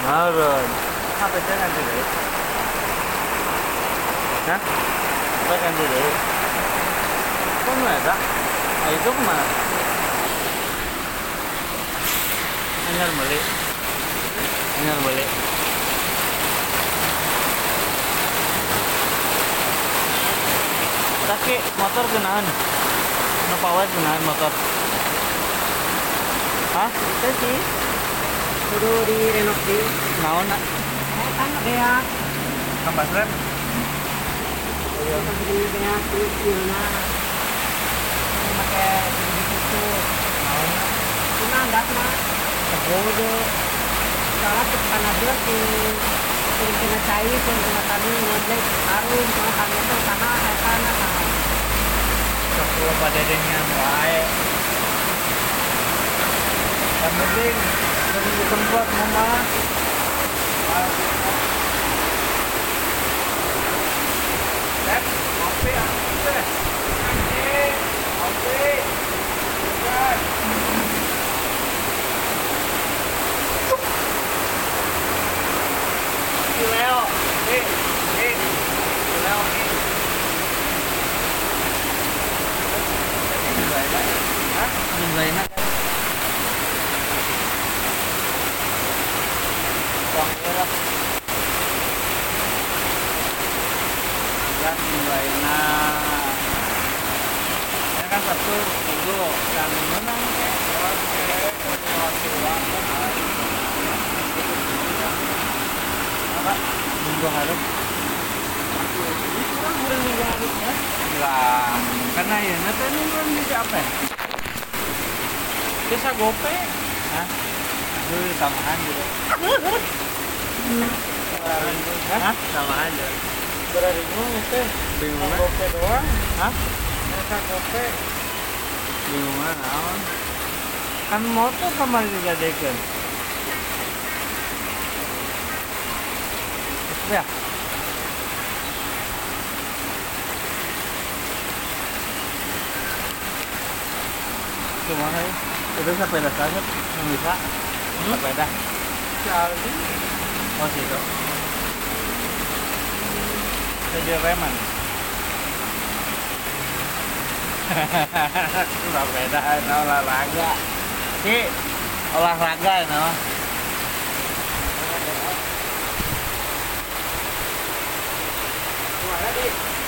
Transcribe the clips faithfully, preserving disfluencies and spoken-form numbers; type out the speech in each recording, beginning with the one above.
Harun. Apa itu ganti deh? Hah? Apa ganti deh? Kok nggak ada? Ah, itu kemana? Anyar beli. Anyar beli. Tapi motor kenaan. Kenapa awet kenaan motor? Hah? Itu sih kudu di renov di Naon nak? eh kan kayak Tambah rem? iya di kayak kulitnya ini pakai gitu tuh Naon nak? cuma enggak mah kebodo salah tekan aja si sering kena cair sering kena kami ngojek harun cuma kami itu sana saya sana Sepuluh pada dengan wae. Yang penting dari tempat mama. Eh, kopi aku deh. Anjing, kopi. Bukan. Kopi Leo. Eh, eh. Leo, eh. Hah? Jumlahnya kan? Bang, ya. Kan jumlahnya. Ya kan satu minggu yang menang kayak orang kayak wakil banget. Apa? Minggu harus. kurang kurang minggu harusnya Lah, karena ya nanti ini kan bisa apa? Bisa gope, hah? Dulu tambahan juga. Hah? Tambahan juga. berapa ribu itu Bingung kan? gope doang Hah? mereka gope Bingung kan? Naon? Kan motor kemarin juga dekan. Ya. Gimana ya? Itu sepeda saja yang bisa. Sepeda. Aldi Oh situ. Saya reman. Sepeda itu olahraga. Si olahraga itu. kemana di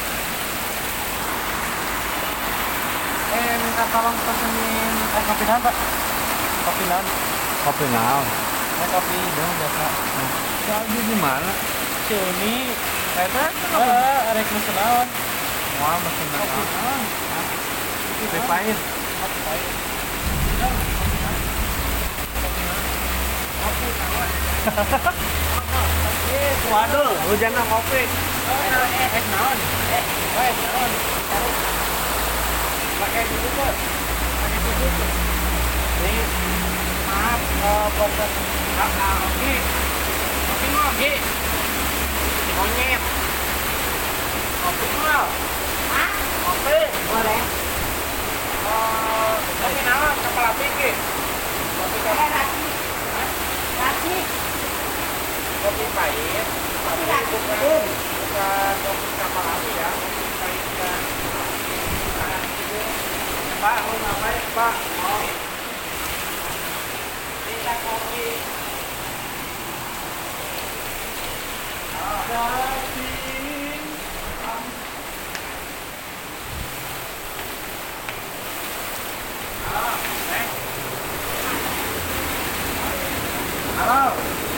eh minta tolong pesenin eh kopi naon pak kopi naon Kopi naon? eh kopi dong biasa Lagi di mana? si Uni Eta kan eh arek mesen naon Wah, mesin kopi naon? naon Kopi pahit. kopi pahit kopi naon eh Waduh, hujannya kopi. eh eh naon eh eh naon pakai dulu kok pakai dulu ini maaf eh pokok ah ah oke oke mau oke si monyet kopi mau ah kopi boleh oh kopi naon kepala pikir kopi kopi raci raci kopi pahit kopi raci bukan bukan kopi kapal api ya kopi pahit dan Pak, mau ngapain Pak? Mau minta kopi. Halo.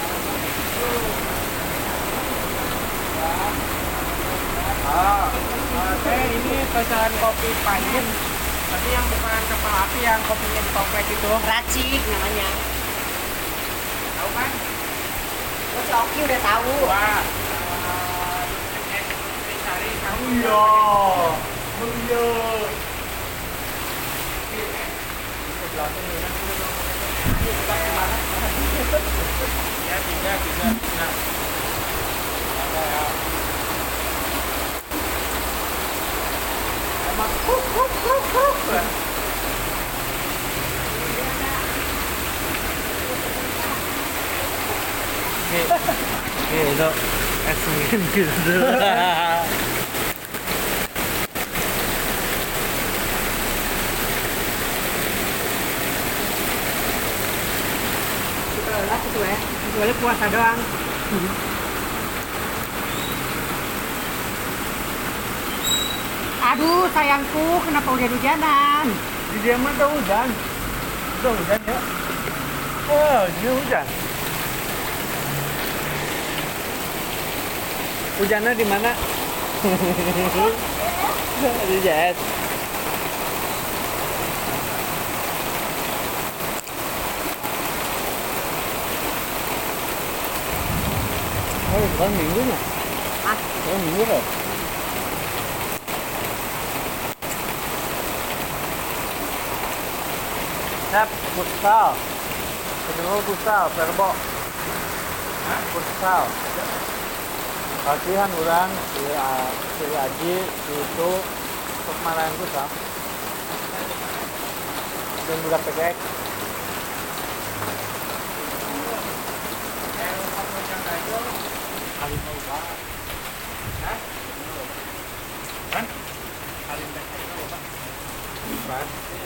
Oh, oke ini pesan kopi pahit. Tapi yang bukan kepala api yang kopinya di toples itu. Racik namanya. Tahu kan? Oh, si Oki udah tahu. Wah. eh, eh, Cari kamu Iya. Iya. Ya tiga tiga. Nah. Ada ya. Emang kuk kuk kuk kuk. Oke. Oke, itu asingin gitu. Lah itu ya. Boleh puasa doang. Aduh sayangku, kenapa udah hujanan? Di dia mah udah hujan. Udah hujan ya. Oh, ini hujan. Hujannya di mana? Di jet. Oh, bukan minggunya. Ah, Oh, minggu loh. Sep, futsal. Kedua futsal, perbo. Futsal. Latihan orang si, A- si Aji, si itu untuk marahin futsal. Dan budak P K X. Alim loba. Hah? Kan? Alim teh loba. Kan?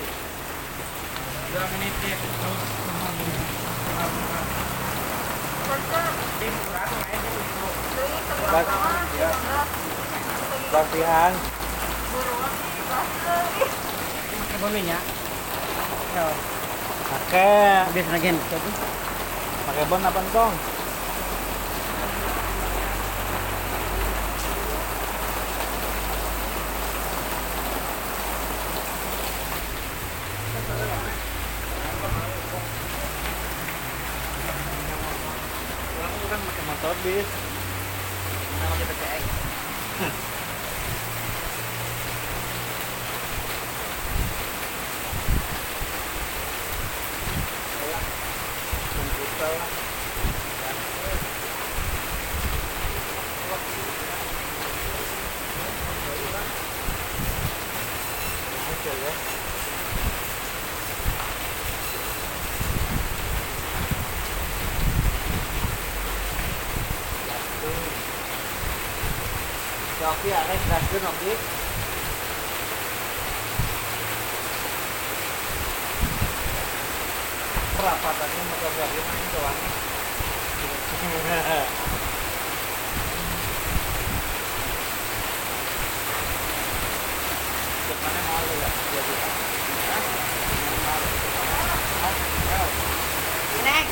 Dua menit ya. Tim kurang main itu. Latihan. pakai bolunya. Yo, Pakai habis lagi itu. pakai bon apa entong? Orang kan pakai motor bis. Nama kita P X. Komputer lah. Oke ya. Oke, ada keraskan oke. Perapatannya motor gari main doang. Depannya mau ya, dua juta. Nek,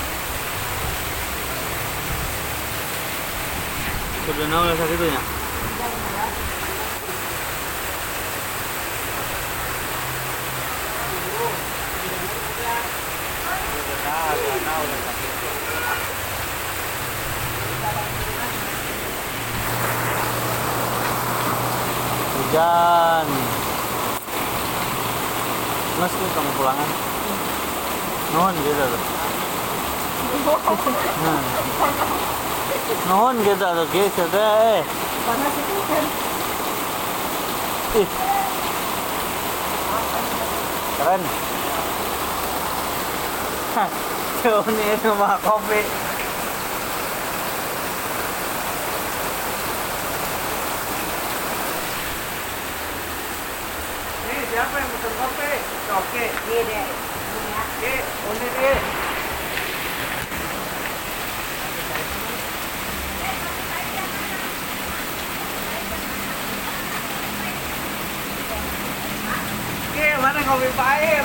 Sudah nol saat itu ya? Hujan. Mas, ini kamu pulangan? Nuhun gitu tuh. Nah. Nuhun gitu tuh, guys. Eh. panas itu kan. Ih. Keren. Hah, jauh nih rumah kopi. Nih, siapa yang pesen kopi? Oke. Iya deh. Ini ya. Oke, ini deh. Oke, mana kopi pahit?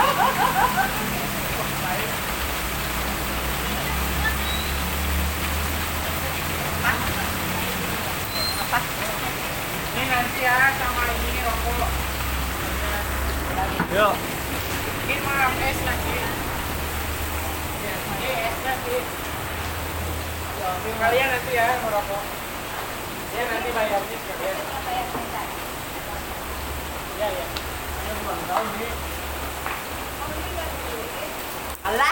Ini nanti ya sama ini rokok. Yuk. Ini mah es nanti. Ini es nanti. Kalian nanti ya merokok. Ya nanti bayarnya sekalian. Ya ya. Ini ulang tahun nih. Alah.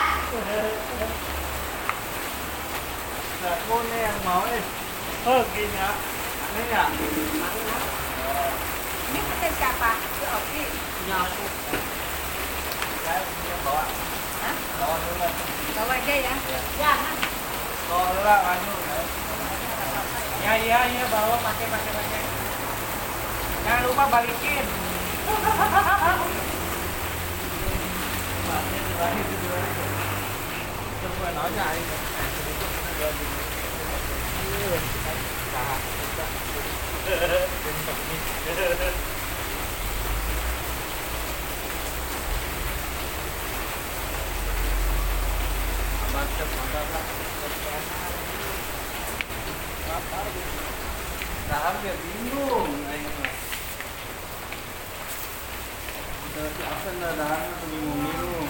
Nah, aku nih yang mau eh. Oh, gini ya. Ini ya. Ini pesan siapa? Si Oki. Punya aku. Saya punya bawa. Hah? Bawa dulu. Bawa aja ya. Jangan. Tolak anu. Ya iya iya bawa pakai pakai pakai. Jangan lupa balikin. Coba nanya ini. Mantap, mantap. Nah, hampir bingung aing. Udah si absen dah dah tuh bingung-bingung.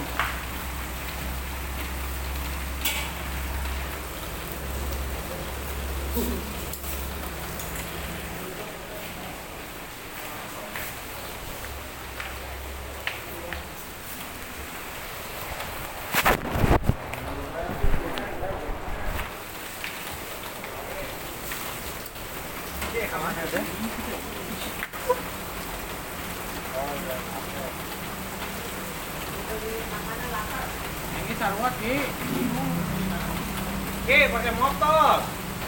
Kemana deh? Oh, udah. Ini sarwat Ki. Ki pakai motor.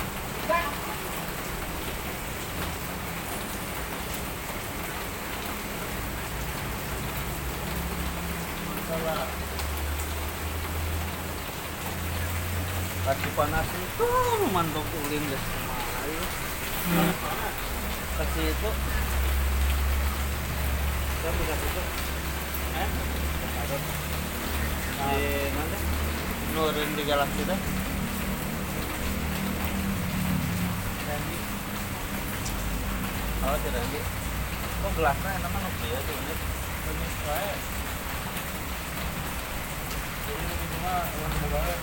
Salah. Kaki panas itu mantuk ulin guys kemarin. Ke situ. Saya bisa situ. Eh? Di mana? Nurin di galaksi dah. Randy. Oh, si Randy. Oh, gelasnya enak mana sih ya tuh ini. Ini saya. Ini cuma warna banget.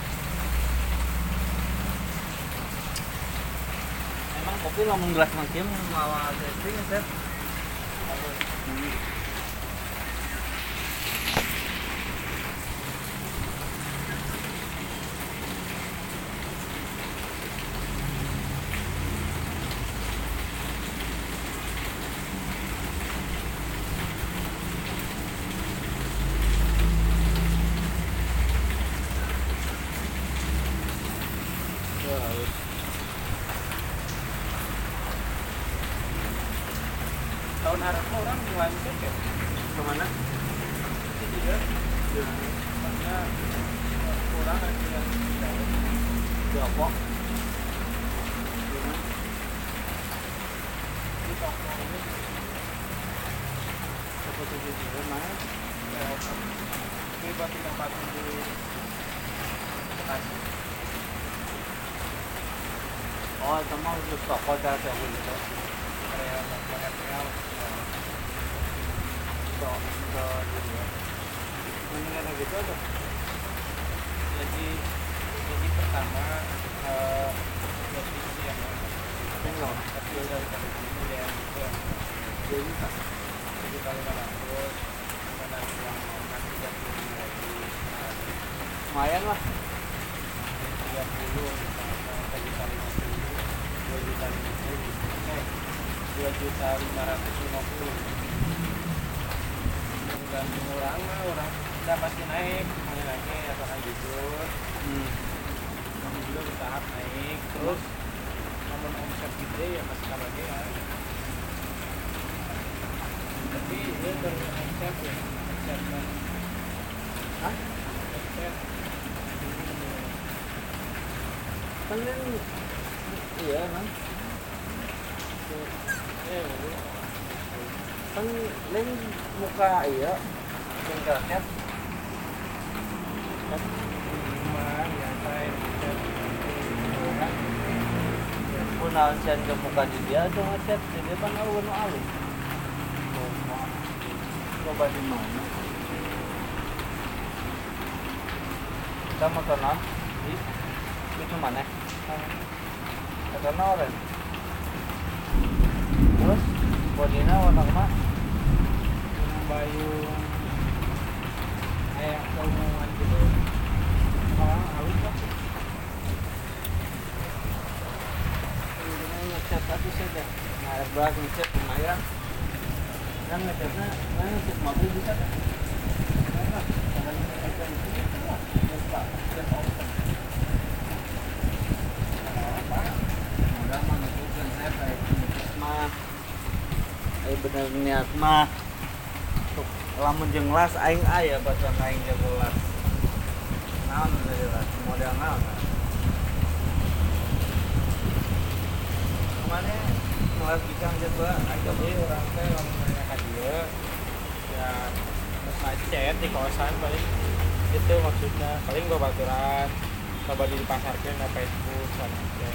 Emang kopi lamun gelas makin malah testing set. Hmm. Tahun harapnya orang mulai mikir ya. Kemana? Jadi ya. Karena kurang ada yang Di Oppo. di toko ini Seperti itu mana? ini buat ditempatin di Bekasi. Oh, itu mah untuk toko cara saya gitu. Area banyak real. So, so gitu ya. Mendingan gitu aja. Jadi jadi pertama eh posisi yang Tinggal. kecil dari kali ini ya itu yang Jadi tak. tujuh kali delapan ratus dan yang nanti tiga puluh lagi Lumayan lah. tiga puluh misalnya tujuh kali lima puluh dua juta lima puluh eh dua juta lima ratus lima puluh tergantung orang lah orang kita pasti naik kembali lagi asalkan jujur Hmm. namun juga bertahap naik terus namun omset gede ya masih kalah lagi ya tapi dia beromset ya omset kan Hah? omset Kan ini iya kan. eh Kan lain muka iya. Yang kerasnya. Kan lumayan biasa ya omset punah sian ke muka di dia tuh ngechat di dia kan alu nu alu. Coba di mana? Kita mau tonton di itu mana? Karena orange. Terus bodinya warna kemana? bayung kayak keumuman gitu orang halus lah Ini ngecat tapi saja. Nah, airbag ngecat lumayan. Dan ngecatnya, nah ngecat mobil bisa kan? Nah, kalau ngecat itu bisa lah. Bisa, bisa open. bener niat mah lamun jeung las aing aya bacaan aing jago las naon dari las model naon kemana ngelas bicang jago aing deui urang teh lamun nanya ka dieu Ya terus macet di kawasan paling itu maksudnya paling babaturan coba dipasarkan ke Facebook sana aja.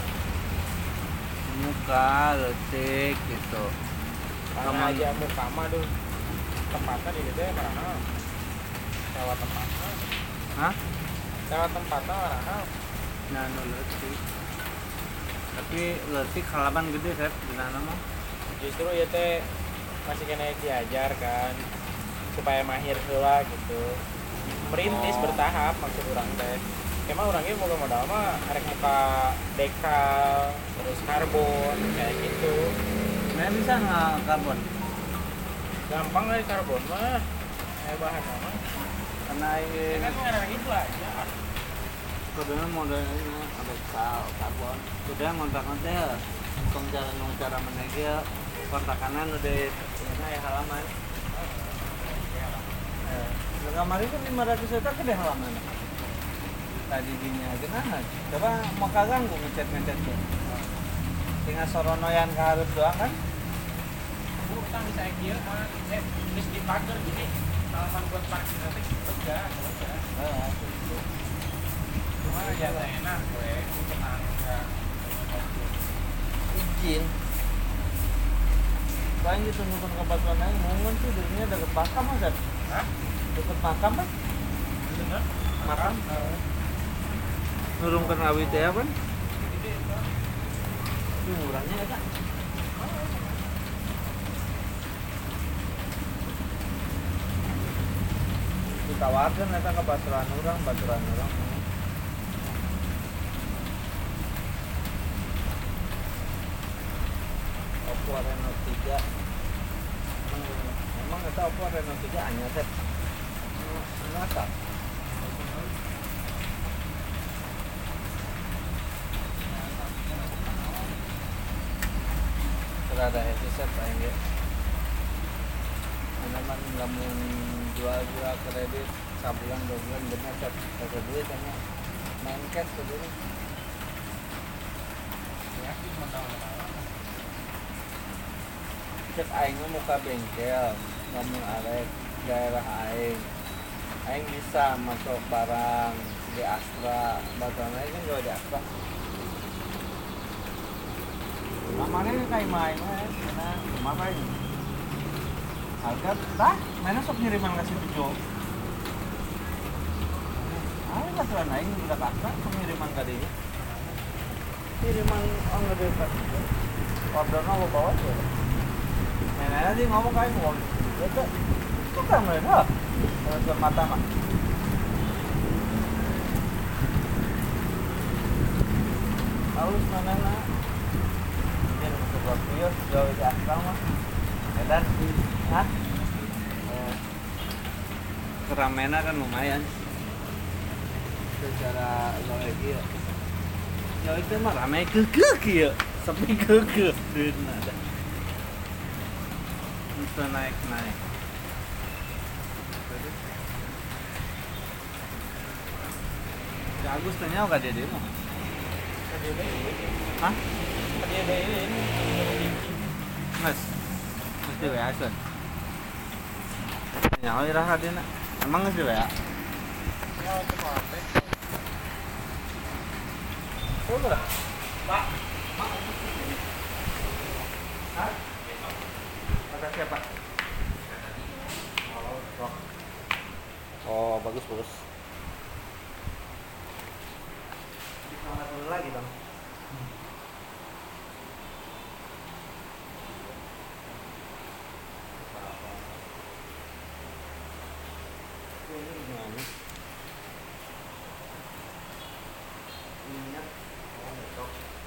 muka letik gitu Karena aja muka mah tuh tempatnya di situ ya karena lewat tempatnya hah lewat tempatnya karena nah no letik tapi letik halaman gede set di sana mah justru ya teh masih kena diajar kan supaya mahir heula gitu merintis Oh. bertahap maksud orang teh emang orangnya mau modal mah arek muka dekal terus karbon kayak gitu nah bisa nggak karbon gampang lah karbon mah kayak bahan mah karena ya ini kan ngarang itu aja kebetulan modelnya ada kal karbon udah ngontak-ngontak kong cara nong cara menegel kontakannya udah ini ya halaman eh kemarin kan lima ratus juta gede halaman tadi dinya gimana coba mau kaganggu ngechat ngechat tuh tinggal soronoyan ke harus doang kan aku utang di saya kira ah eh terus di pagar gini halaman buat parkir nanti enggak enggak eh, cuma ya enak gue tenang enggak izin paling ditunggukan ke batuan lain mungkin sih dirinya deket makam aja hah deket makam kan bener makam nurungkan awit ya kan itu murahnya ya kan ditawarkan eta ke baturan orang baturan orang Oppo Reno tiga emang emang eta Oppo Reno tiga hanya set ngata terada headset paling ya memang nggak mau jual-jual kredit sabulan dua bulan bener set pakai duit hanya main cash tuh dulu ya sih modal cek aing mah muka bengkel ngomong arek daerah aing aing bisa masuk barang di Astra batuan aing kan jual di Astra namanya kayak main mah karena rumah apa ini harga dah mana sok ngiriman kasih tujuh ah batuan aing udah Astra pengiriman kadinya kiriman orang gede kasih ordernya lo bawa tuh nenek sih ngomong kayak ngomong itu itu kan mereka kalau mata mah halus mana nak dia masuk ke kios jauh di asal mah dan hah eh, keramaian kan lumayan secara lagi ya ya itu mah ramai kekeh ya sepi kekeh duit ada bisa naik-naik si Agus tanya gak dia demo? Hah? dia ada ini Mas? Mas di W A sun? Nyawa iraha dia nak? Emang nges di W A? ya cuma apa Oh berapa? pak Hah? Kata siapa? Oh, oh bagus bagus. Ditambah dulu lagi dong. Ini gimana? Minyak. Oh, besok.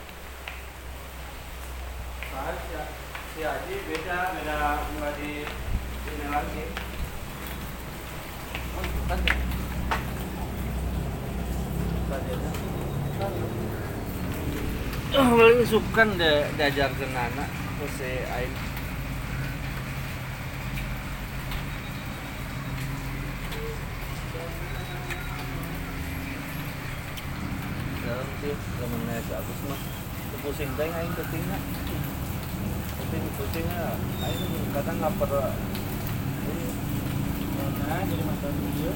Pas ya. Si Haji beda, beda nggak di ini lagi. Oh, bukan ya? Bukan ya? Paling sukan de diajar ke anak terus si Aing dalam sih temennya si Agus mah pusing teh aing pentingnya penting pusingnya aing kadang nggak pernah ini Nah, jadi masalah video.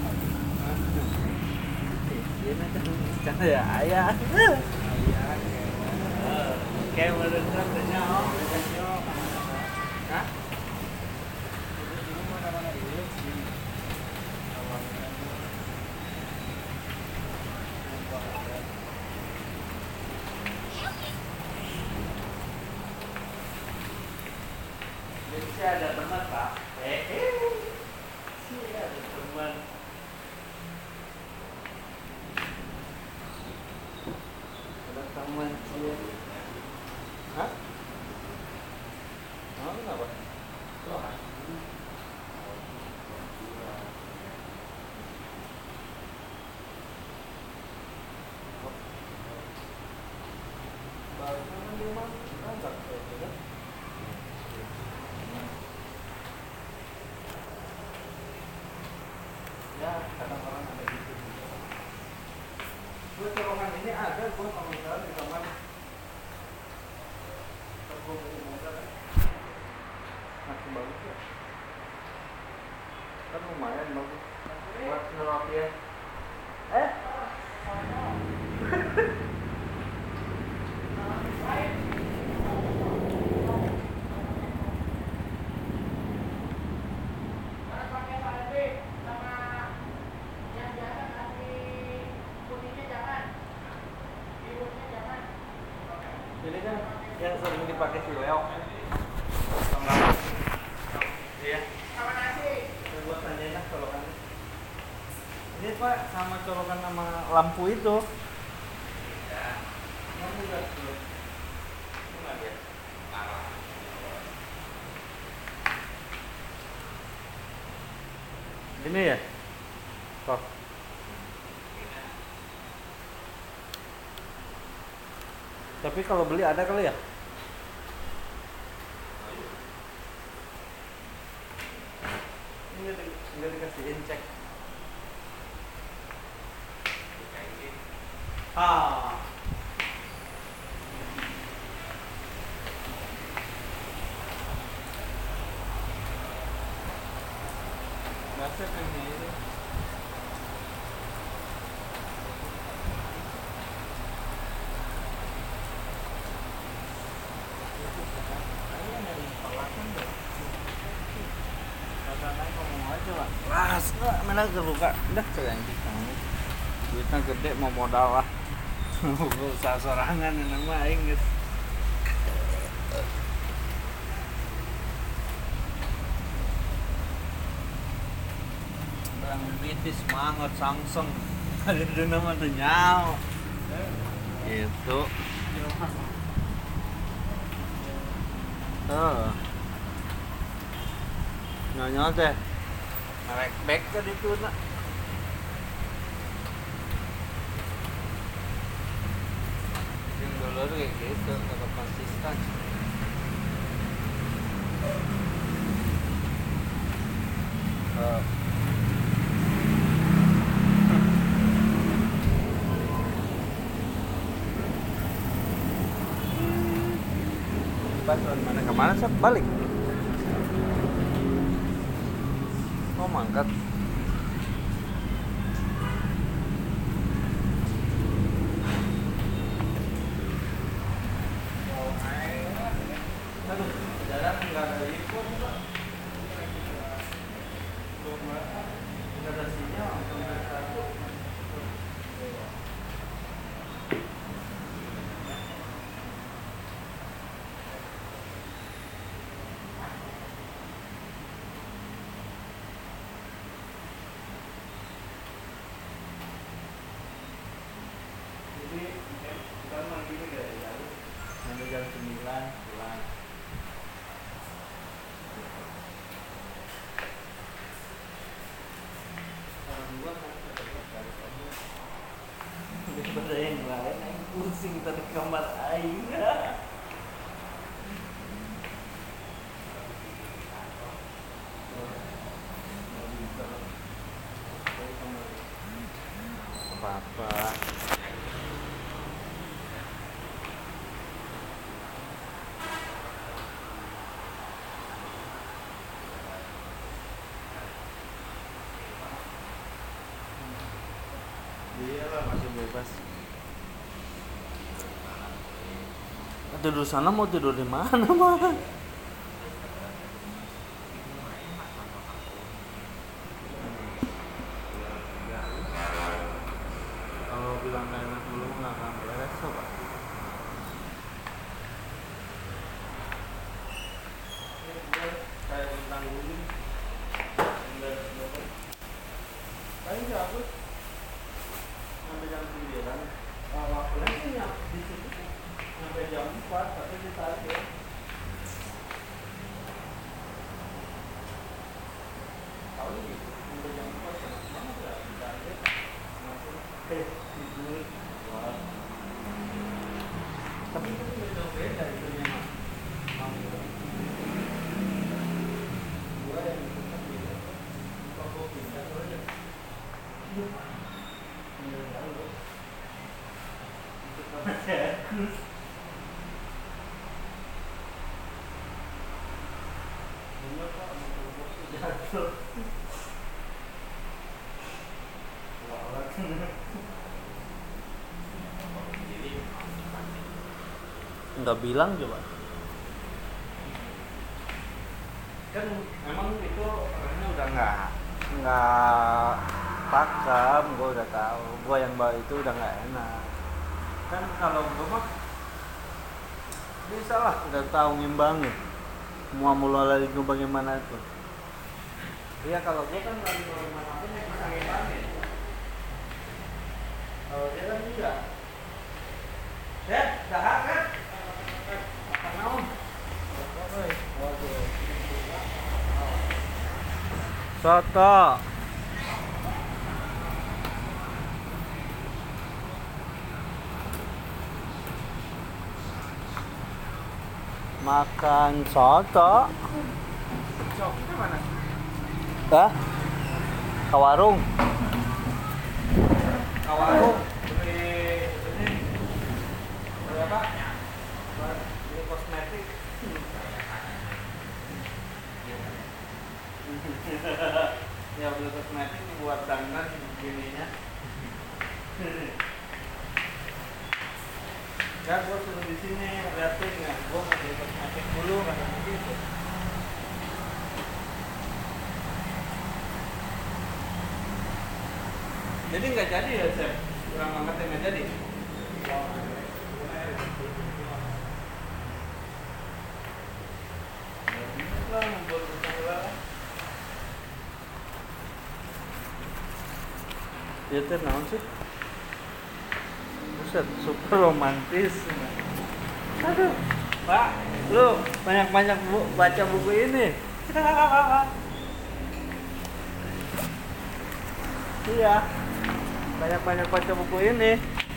ini kan ya ayah Ayah, kayak menurut katanya oh hah ini mana-mana dia sih. jadi saya ada teman pak eh eh saya ada teman ada teman sih hah oh kenapa oh baliknya kan di rumah kantor gitu kan ya kadang orang ada gitu juga gue colongan ini ada gue kalau misalnya di kamar terus gue beli motor masih bagus ya kan lumayan bagus buat ngerokin eh ini kan yang sering dipakai si Leo sama iya Sama nasi. ini buat enak colokan ini pak sama colokan sama lampu itu ya kamu lihat dulu enggak dia parah ini ya kok tapi kalau beli ada kali ya ini nggak di, nggak dikasihin cek ah biasa kan ini Ras, mana kebuka, dah keren kamu. Duitnya gede mau modal lah. Usaha sorangan ini mah aing geus. Barang bitis mangot sangseng. Ada di nama tuh nyao. Gitu. Tuh. Nyonya teh. Narek back ke ditu na. Yang dulu kayak gitu, tetap konsisten. Uh. Pas mana kemana sih balik? Oh mangkat. Aduh, jalan nggak ada ikut pak. Nggak ada sinyal. Jadi kita mandi dari jam sampai jam sembilan pulang. Kalau dua kan tetap dari kamu. Daripada yang lain, yang pusing tadi kamar aing. Apa-apa. atas. Tidur sana mau tidur di mana mah? Kalau bilang gak enak dulu nggak akan beres coba. Kayak bintang guling. Paling nggak aku sampai jam sembilan. Waktunya sih nyam di situ sampai jam empat, tapi ditarik ya. Tahu gitu, sampai jam empat enak banget ya ditarik. Masuk eh tidur. Wah. Tapi itu beda beda itu memang. Gua yang tetap beda. Kok pindah aja. Enggak bilang coba. Kan emang itu orangnya udah nggak nggak pakem, gue udah tahu. Gue yang bawa itu udah nggak enak. Kan kalau gue mah bisa lah, udah tahu ngimbangin. Mau mulai lagi gue bagaimana itu. Iya kalau gue kan lagi bagaimana pun ya bisa ngimbangin. Kalau dia kan tidak. Ya, dah kan? Apa naon? Soto. Makan soto. Soto mana? Hah? Ke warung. Ke warung. Beli ini. Beli apa? Beli kosmetik. Ya beli kosmetik buat dandan gininya. Ya gue suruh di sini liatin ya, gue mau beli kosmetik dulu kata begitu. Jadi nggak jadi ya Chef? Kurang banget nggak jadi? Lah membuat usaha. Ya teh naon sih? Buset, super romantis. Aduh, Pak, lu banyak-banyak bu baca buku ini. Iya, banyak-banyak baca buku ini.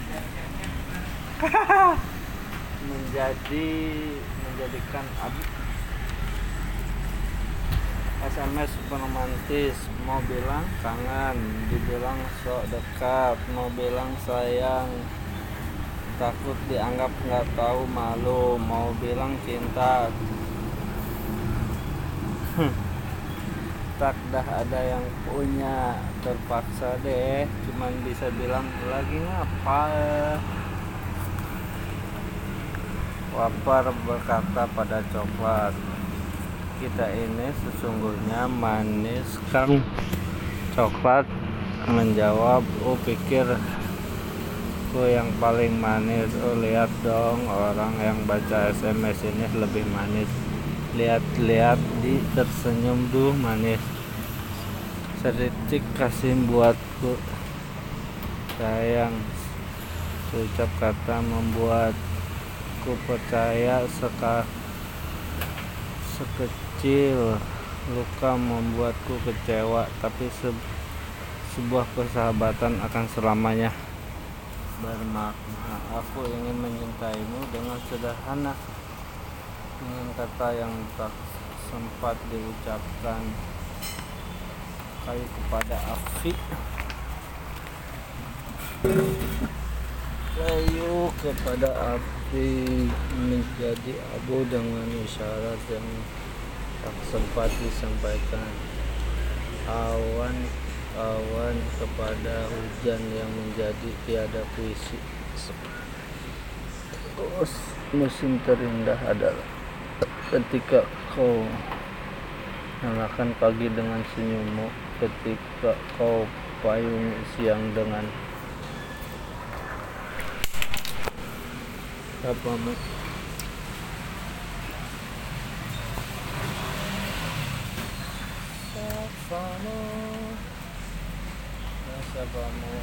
Menjadi menjadikan abi S M S super romantis, mau bilang kangen, dibilang sok dekat, mau bilang sayang, takut dianggap nggak tahu malu, mau bilang cinta. Tak dah ada yang punya, terpaksa deh, cuman bisa bilang lagi ngapa. Wapar berkata pada coklat, kita ini sesungguhnya manis kan? Coklat menjawab, oh pikir ku yang paling manis. Oh lihat dong, orang yang baca S M S ini lebih manis. Lihat-lihat di tersenyum duh manis. Sedikit kasih buatku sayang, ucap kata membuatku percaya seka sekecil luka membuatku kecewa, tapi se sebuah persahabatan akan selamanya bermakna. Aku ingin mencintaimu dengan sederhana, dengan kata yang tak sempat diucapkan. Kayu kepada api, kayu kepada api menjadi abu dengan isyarat yang tak sempat disampaikan. Awan awan kepada hujan yang menjadi tiada puisi. Musim terindah adalah ketika kau nyalakan pagi dengan senyummu, ketika kau payungi siang dengan sapamu. Sapamu, sapamu.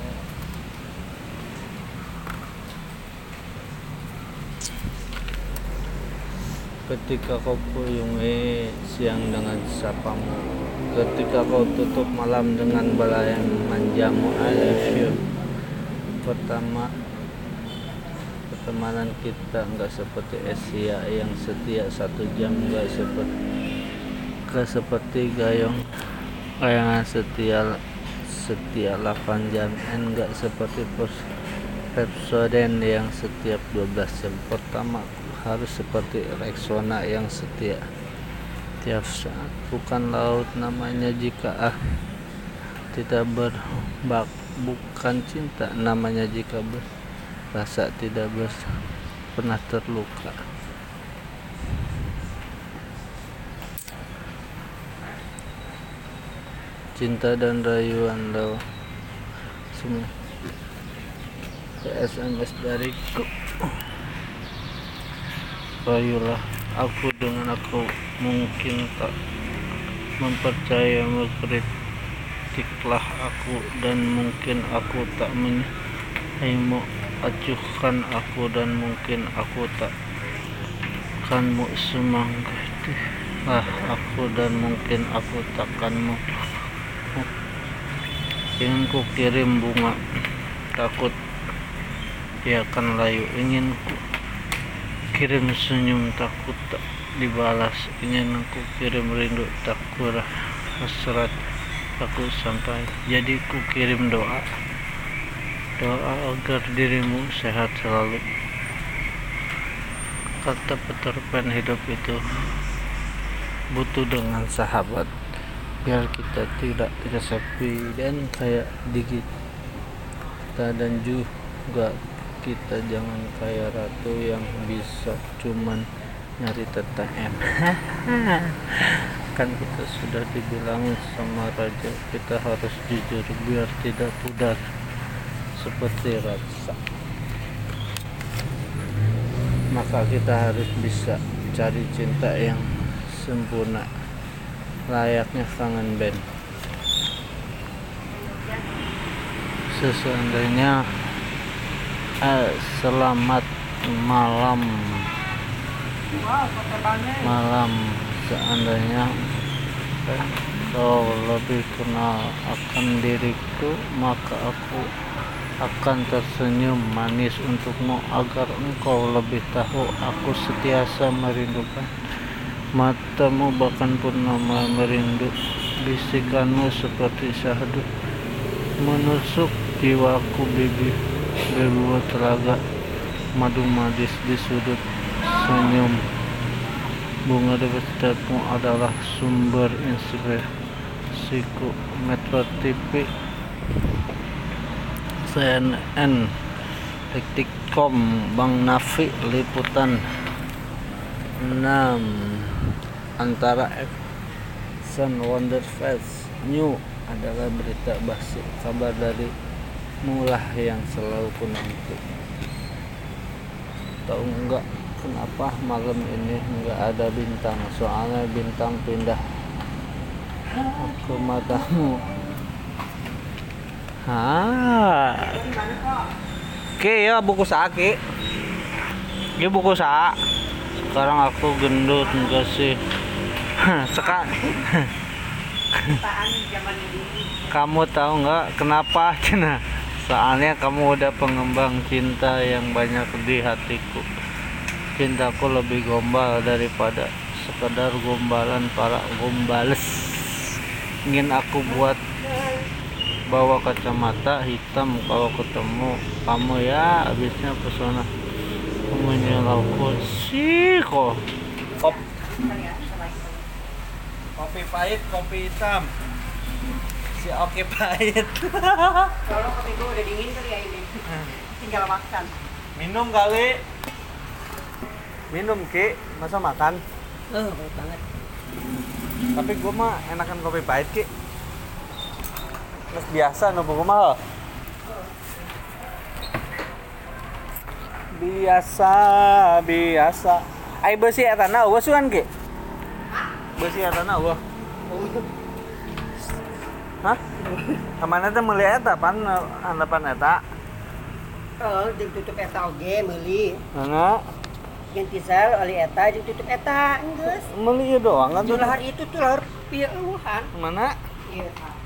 Ketika kau puyungi siang dengan sapamu, ketika kau tutup malam dengan belayan manjamu. I love you. Pertama, pertemanan kita nggak seperti Asia yang setia satu jam, nggak seperti nggak seperti gayung kayangan setia setia delapan jam, dan nggak seperti Pepsodent yang setiap dua belas jam. Pertama harus seperti Rexona yang setia tiap saat, bukan laut namanya jika ah tidak berbak, bukan cinta namanya jika berasa tidak ber, pernah terluka. Cinta dan rayuan lo semua S M S dariku. Rayulah aku dengan aku mungkin tak mempercaya, mengkritiklah aku dan mungkin aku tak menyaimu, acuhkan aku dan mungkin aku tak kanmu, semangatilah aku dan mungkin aku takkanmu. Ingin ku kirim bunga, takut ia akan layu. Ingin ku kirim senyum, takut tak dibalas. Ingin aku kirim rindu, takut hasrat aku sampai. Jadi ku kirim doa, doa agar dirimu sehat selalu. Kata Peter Pan, hidup itu butuh dengan sahabat, biar kita tidak tidak sepi dan kayak dikit kita, dan juga kita jangan kayak ratu yang bisa cuman nyari teteh. Kan kita sudah dibilangin sama raja, kita harus jujur biar tidak pudar seperti rasa. Maka kita harus bisa cari cinta yang sempurna, layaknya kangen band. Seandainya eh, selamat malam malam seandainya eh, kau lebih kenal akan diriku, maka aku akan tersenyum manis untukmu agar engkau lebih tahu aku setiasa merindukan matamu, bahkan purnama merindu bisikanmu seperti syahdu menusuk jiwaku. Bibi berbuat telaga madu madis di sudut senyum. Bunga debatmu adalah sumber inspirasiku. Metro T V, C N N, Detik titik com, Bang Nafi, liputan enam. Antara Action Wonder Fest New adalah berita basi, kabar dari mulah yang selalu ku nanti. Tahu enggak kenapa malam ini enggak ada bintang? Soalnya bintang pindah ke matamu. Ah. Oke ya, buku sake. Ini buku sa. Sekarang aku gendut enggak sih? Sekarang kamu tahu nggak kenapa? Cina, soalnya kamu udah pengembang cinta yang banyak di hatiku. Cintaku lebih gombal daripada sekedar gombalan para gombales. Ingin aku buat bawa kacamata hitam kalau ketemu kamu, ya habisnya pesona kamu nyelauku sih kok. Kop kopi pahit, kopi hitam. Si oke pahit. Kalau kopi gue udah dingin kali ya ini. Tinggal makan. Minum kali. Minum Ki, masa makan? Oh, baik banget. Tapi gue mah enakan kopi pahit Ki. Terus biasa nu gua mah. Biasa, biasa. Ai beusi eta na eueuh sugan Ki? Beusi eta na eueuh. Hah? Kamana teh meuli eta pan handapan eta? Oh, jeung tutup eta oge meuli. Heeh. Ganti sel oli eta jeung tutup eta geus. Meuli ieu doang kan? Lahar itu tuh lahar pieu eueuhan. Mana? Ieu.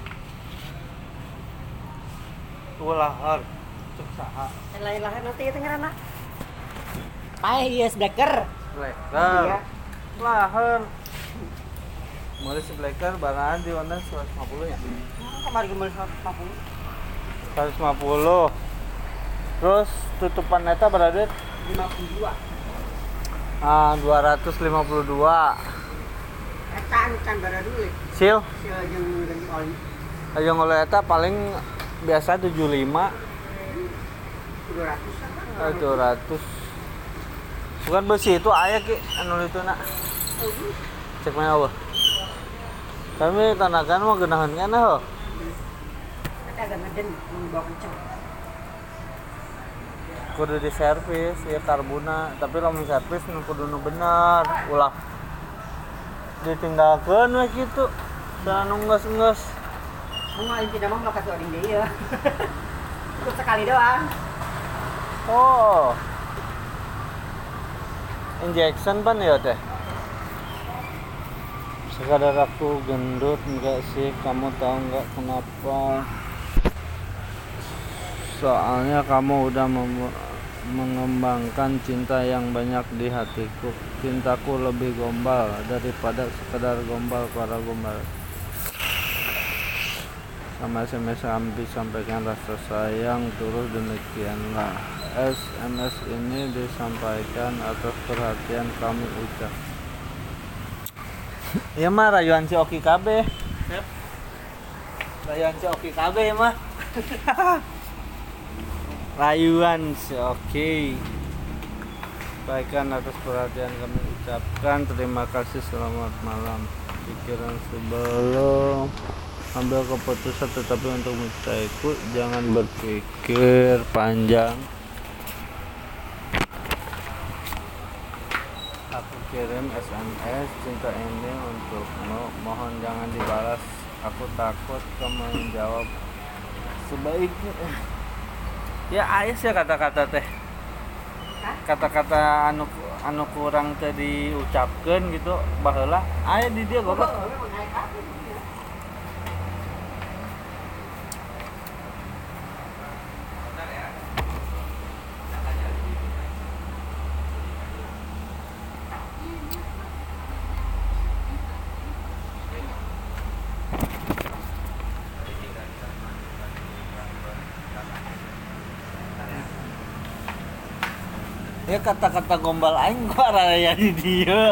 Tuh lahar. Cek saha? Lain lahar nanti itu ngaranna. Paeh ieu blacker. Blacker. Iya. Lahar. Mulai si Blacker barangan di mana seratus lima puluh ya? Kemarin geumeuh seratus lima puluh. seratus lima puluh. Terus tutupan neta berada lima puluh dua. ah dua ratus lima puluh dua. Eta anu can bara dulu. Sil, Sil jeung ganti oli. ayo ngoleh eta paling biasa tujuh puluh lima. dua ratus. Eh, dua ratus. Bukan besi itu aya Ki anu itu nak. Cek mana eueuh. Kami tanakan mah geunaheun kana heuh. Eta agak ngeden mun bawa kenceng. Kudu di servis ya karbuna, tapi lamun servis nu kudu nu bener, ulah ditinggalkeun we kitu. Da nu geus-geus. Mun mah intina mah mah kasih oding deui ya. Ikut sekali doang. Oh. Injection pan ya teh. Sekadar aku gendut enggak sih, kamu tahu enggak kenapa? Soalnya kamu udah mem- mengembangkan cinta yang banyak di hatiku. Cintaku lebih gombal daripada sekedar gombal para gombal. Sama S M S Ambi sampaikan rasa sayang terus demikianlah. S M S ini disampaikan atas perhatian kami ucap. Ya mah rayuan si Oki kabeh. Yep. Rayuan si Oki kabeh mah. Rayuan si Oki. Sampaikan atas perhatian kami ucapkan terima kasih, selamat malam. Pikiran sebelum ambil keputusan tetapi untuk mencintaiku jangan berpikir panjang. Aku kirim S M S cinta ini untukmu, mohon jangan dibalas, aku takut kamu menjawab sebaiknya. Ya ayah sih kata-kata teh, kata-kata anu anu kurang teh diucapkan gitu baheula aya di dia goblok. Ya kata-kata gombal aing gua raya di dia.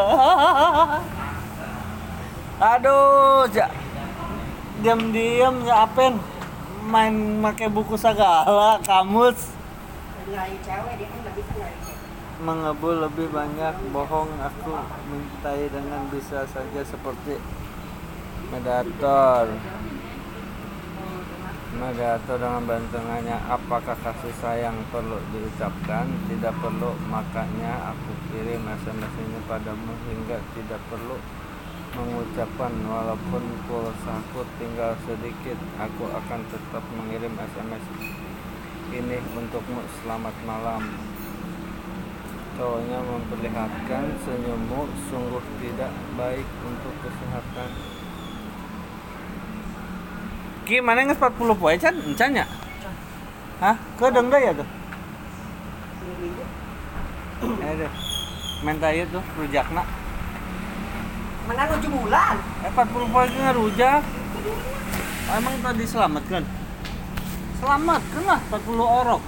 Aduh, ja. Diam-diam ya apen main make buku segala kamus. Nyari cewek dia kan enggak bisa nyari cewek. Mengebul lebih banyak bohong, aku mencintai dengan bisa saja seperti Mediator. Mediator dengan bantungannya, apakah kasih sayang perlu diucapkan? Tidak perlu, makanya aku kirim S M S ini padamu hingga tidak perlu mengucapkan. Walaupun pulsaku tinggal sedikit, aku akan tetap mengirim S M S ini untukmu. Selamat malam. Cowoknya memperlihatkan senyummu sungguh tidak baik untuk kesehatan. Ki mana geus empat puluh poe can encan nya? Hah? Keudeng deui ya tuh. Eh deh. Menta ieu tuh rujakna. Mana nuju bulan? Eh empat puluh poe ge ngarujak. Oh, emang tadi selamatkeun? Selamatkeun lah empat puluh orok.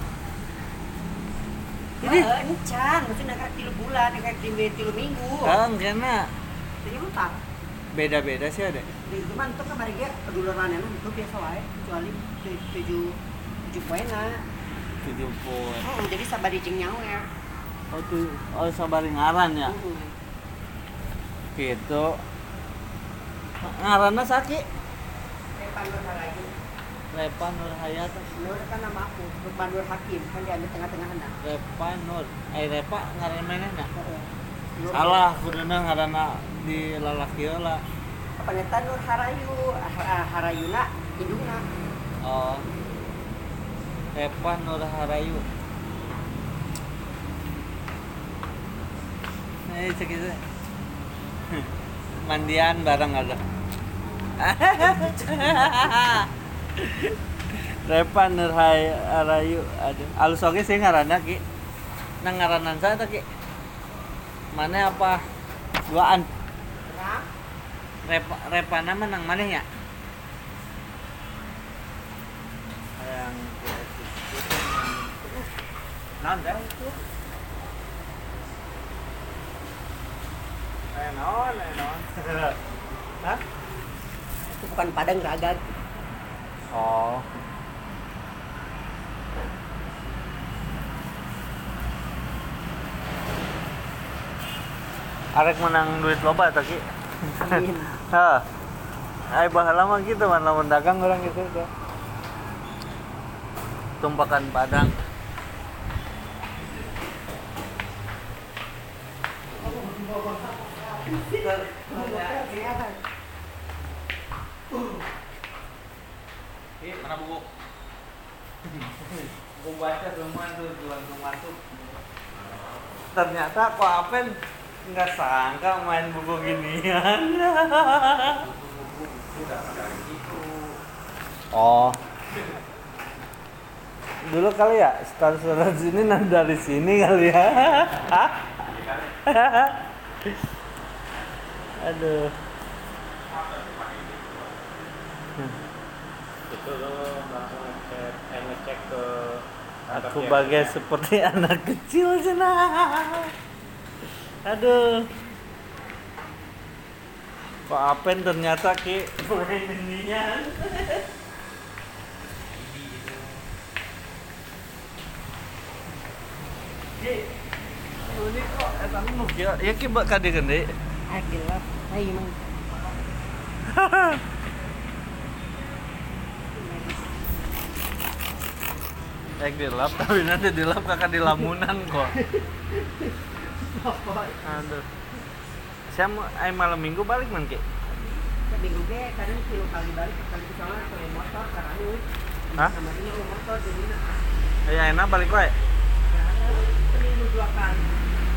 Jadi ini can, maksudnya kayak tilu bulan, kayak tilu tilu minggu. Kan kena. Jadi utang. Beda-beda sih ada. Di cuman tuh kemarin dia kedulurannya itu biasa wae kecuali tu- tujuh tujuh poinna. tujuh poin. Oh, jadi sabari jeung nyawer. Oh tuh, oh sabari ngaran ya. Heeh. Gitu. Ngaranna saki? Repan Nur Harayu. Repan Nur Hayat. Nur kan nama aku, Lukman Nur Hakim, kan dia di tengah-tengahna. Repan Nur. Eh Repa ngaran manehna. Heeh. Nur- Salah kuduna ngaranna di lalaki heula. Paneta Nur Harayu, ah, ah, Harayuna indungna. Oh. Repan Nur Harayu. Eh segitu. Mandian bareng ada. Repan Nur Harayu ada. Alus oge sih ngaranna ki. Nang ngaranan saya teh ki. Mana apa? Duaan. Rap, Repa Repana menang mana ya? Yang non dah itu. Eh non, eh non. Hah? itu bukan Padang Ragad. Oh. Arek menang duit loba eta ki. Amin. Hah. Ai baheula mah gitu man lamun dagang orang gitu tuh. Tumpakan Padang. Eh, mana buku? Buku baca semua tuh langsung masuk. Ternyata kok Apen nggak sangka main buku ginian. Oh. Dulu kali ya, status sini nanti dari sini kali ya. Hah? Aduh. Itu lo langsung ngecek, eh, ngecek ke Aku bagai seperti anak kecil cenah. Aduh. Kok Apen ternyata ki main inian. Ki, ini kok eta nu ya ya ki bak kade gede. Ah, gelap. Hai, Mang. Eh dilap tapi nanti dilap kakak di lamunan kok. Aduh. Saya mau eh, malam minggu balik man ki. Minggu ge kadang kilo kali balik kali ke sana ke motor karena anu. Hah? Sama ini motor jadi Ya enak balik wae. seminggu dua kali.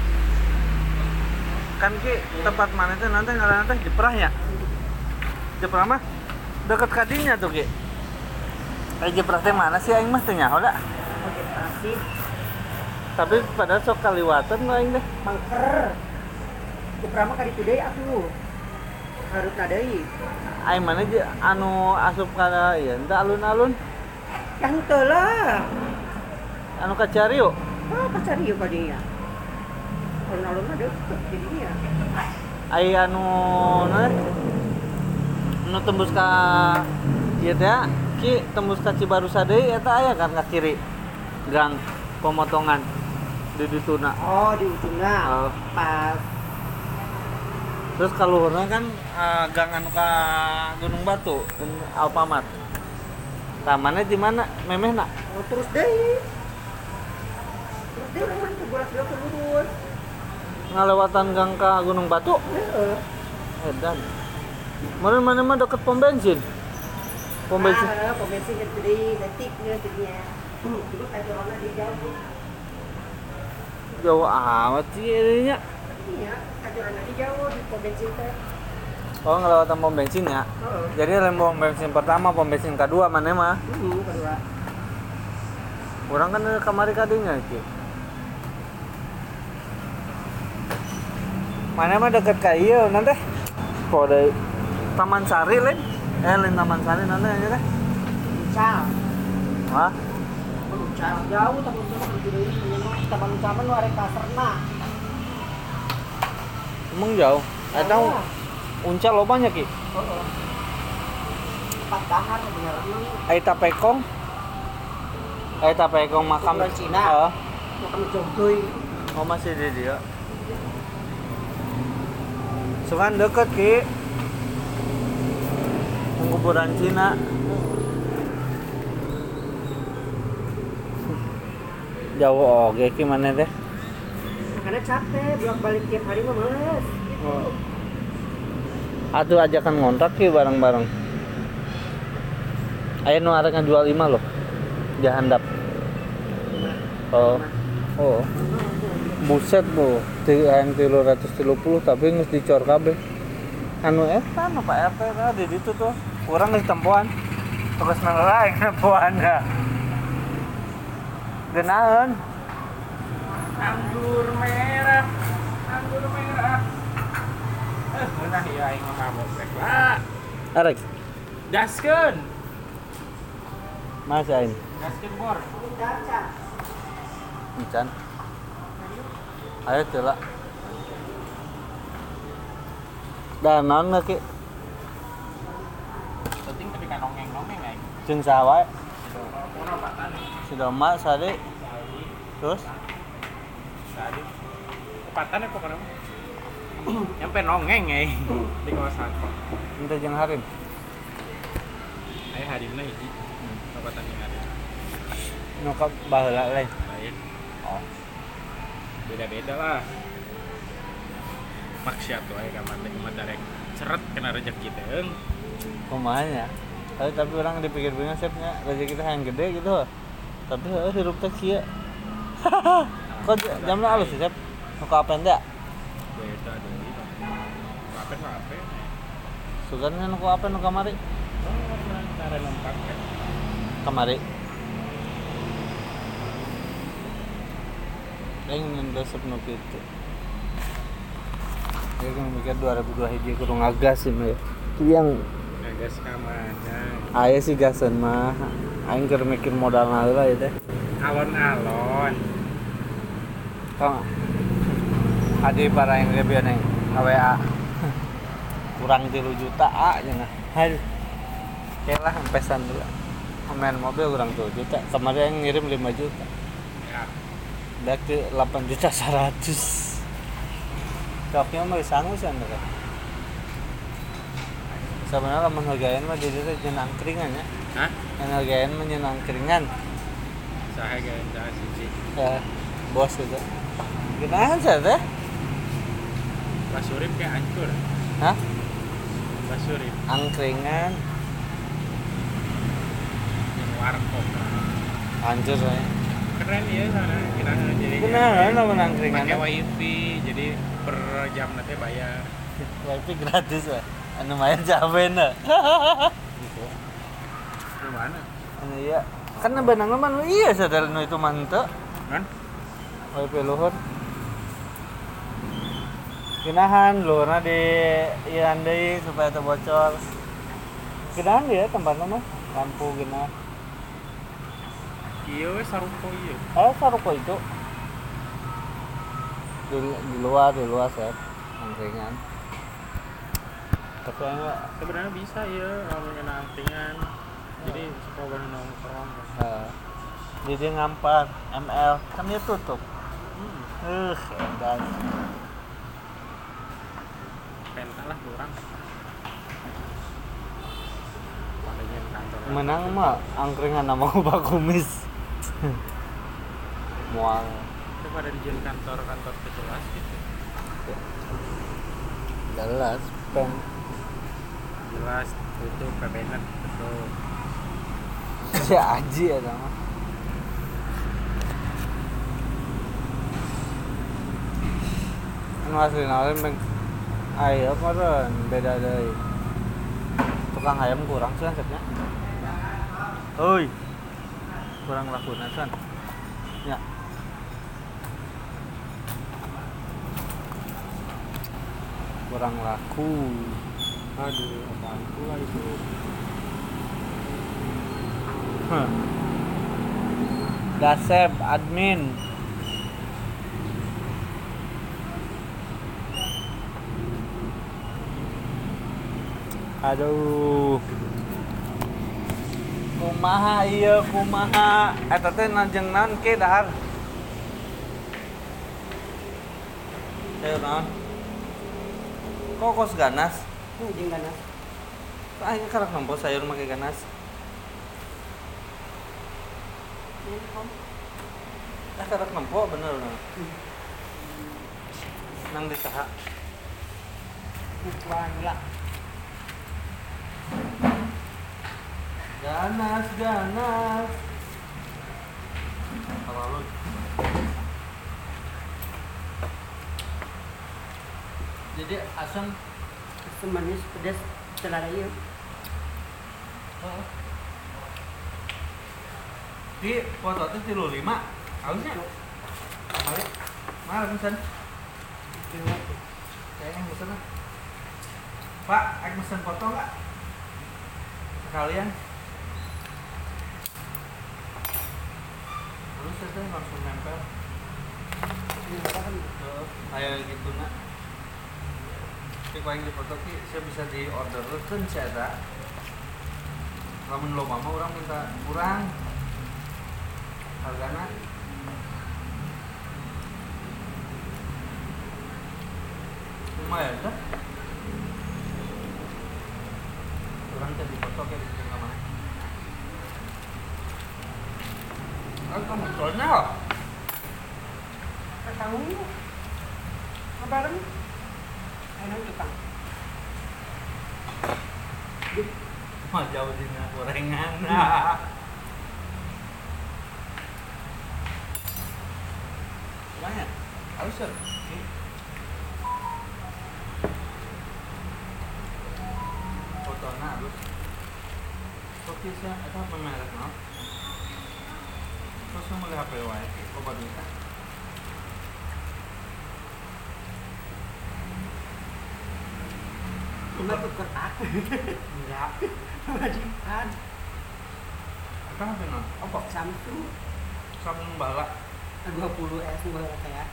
Kan ki tempat mana teh nanti ngaranna teh Jeprah ya. Jeprah mah deket kadinya tuh ki. Eh Jeprah teh mana sih aing mah teh nyaho da. Oke, pasti Tapi padahal sok kaliwatan lah aing teh. mangker. Keprama kali deui aku. Harusna deui. Aing mana je anu asup kana ieu teh alun-alun Yang teu lah. anu ka Ciariu. Oh, pacari yuk kadinya. Alun-alun mah deket jadinya. Ai anu nah anu tembus ka ieu teh ki tembus ka Cibarusah deui eta aya kan ka kiri gang pemotongan di dituna. Oh, di ujungnya. Oh. Pas Terus kaluhurna kan uh, gang anu ka Gunung Batu, Alfamart. Tamannya di mana? Memehna. oh, terus deui. Terus deui urang teh bolak balik lurus. Ngalewatan gang ka Gunung Batu. Heeh. Edan. Meureun mana mah deket pom bensin. Pom bensin. Ah, pom bensin yang gede, detiknya jadinya. Dulu kajorona di jauh. Jauh amat sih ininya. Iya, kajorona di jauh di pom bensin teh. Oh ngelewatan pom bensin ya. Heeh. Jadi lem pom bensin pertama, pom bensin kedua mana mah. Heeh, kedua. Orang kan kamari kadinya ki. Mana mah deket ka ieu nanti. Kok ada Taman Sari lain? Eh lain Taman Sari nanti aja teh. Cal. Hah? Cal jauh tapi itu mah di deui mah taman taman nu arek kaserna. Emang jauh? Eta Uncal lo banyak ki. Oh, empat dahar bener emang Aita pekong. Aita pekong makam Ukuran Cina. Heeh. makam jongdoy. Oh masih di dia. Sungan deket ki. Kuburan Cina. Jauh oke ki mana deh? Karena capek bolak balik tiap hari mah males. Gitu. Oh. Atuh ajakan ngontrak ki bareng-bareng. Ayo nu arek ngajual lima loh. Jahandap. Oh. Oh. Buset bu, yang tiga ratus tiga puluh tapi nggak dicor kabeh. Anu eta nu Pak R T tah di ditu tuh. Kurang geus tempoan. Terus nelain tempoannya. Genaheun. Anggur merah, anggur merah. Eh, beunah ieu aing mah mabok rek lah. Arek, Gaskeun. Mas aing. Gaskeun bor. Daca. Encan. Ayo teh lah. Da naon ge ki? Penting tapi kan nongeng-nongeng aing. Jeung saha wae? Ono patan. Si Doma sade. Terus Tadi kepatan ya pokoknya nyampe nongeng ya di kawasan ente jeung Harim. ayo harimna hiji kepatan yang ada Nu ka baheula lain. lain Oh. beda-beda lah maksiat tuh ayo kamar teh kumaha darek ceret kena rezeki teh eung Kumaha nya? Tapi tapi orang dipikir-pikir sepnya rezeki teh yang gede gitu. Tapi heuh hirup teh kieu. Kok jamna alus sih, Sep? Nu ka apen teh? beda deui apa apa Sugan nu ku apen nu kamari? oh cara lengkap kan Kamari. Aing ngan resep nu kitu. Ya kan mikir dua ribu dua hiji kudu ngagas sih mah. Itu yang gas kamana aya sih gasan mah. Aing keur mikir modalna heula ieu teh. alon-alon Kang. Adi para yang lebih neng W A. Kurang tiga juta A nya nah. Hai. Kelah empesan dulu. Main mobil kurang tiga juta. Kemarin yang ngirim lima juta. ya Dak ke delapan juta seratus. Koknya mah sanggup sih anda. Sebenarnya menghargain mah jadi teh jenang keringan ya. hah Menghargain mah jenang keringan. saha gawe saha siji Ya, bos itu. Gimana sih teh? basurip kayak hancur Hah? basurip Angkringan yang warkop hancur saya. keren ya sana kita jadi Kenapa nama angkringan? pakai wifi jadi per jam nanti bayar Wifi gratis lah. Anu main cabe na. gitu gimana Anu iya. Kan benang mah iya sadar nu itu mah henteu. kan Wifi luhur. Ginahan luhurna di ieu deui supaya teu bocor. Ginahan dia tempatna mah lampu gina. iya we sarupo iya Eh saruko itu. Di, di luar di luar set angkringan. Tapi enggak sebenarnya bisa ya kalau kena angkringan jadi suka banget nongkrong uh, jadi ngampar M L kan dia tutup. hmm. Uh, edan. pentas lah kurang padahal kantor Menang mah angkringan nama Pak Kumis. Mual. itu pada di jalan kantor-kantor kejelas gitu Jelas pen. jelas itu pebenet betul Si Aji ya sama. Anu asli nawarin beng. Ayo meren beda deui. Tukang ayam kurang sih konsepnya. Oi. Kurang lakuna san. Ya. Kurang laku. aduh apaan pula itu Huh. Dasep admin. Aduh. Kumaha ieu kumaha eta teh najeng naon ke dahar. Teu naon? Kokos ganas. Ini jeung ganas. Aing karak nempo sayur make ganas. Ini kom. Ah karak nempo bener nah. Nang di saha? Ukuran lah. Ganas, ganas. Terlalu. Jadi asam Asam manis pedas selada ieu. heeh. Di foto teh tilu lima. Ausnya. Mari. Mari pesen. Kayaknya pesen ah. Pak, aku pesen foto enggak? Sekalian. Terus saya langsung nempel. Ini apa kan? Heeh, kayak gitu nak. Tapi kalau yang di foto ki saya bisa di order kan saya tak. Lamun lo mama orang minta kurang. Hargana lumayan kan? Orang tadi foto kayak di tengah mana? Kan kamu soalnya kok? Kamu kabaran? Enak tukang. Mah jauh di gorengan. Lumayan, harus ya. Fotona harus. Oke sih, itu apa merek no? Terus mau lihat H P wae, kok baru bisa? Cuma tuh kertas. Enggak. Majikan. Apa H P no? Apa? Samsung Samsung bala. dua puluh S gua kayak.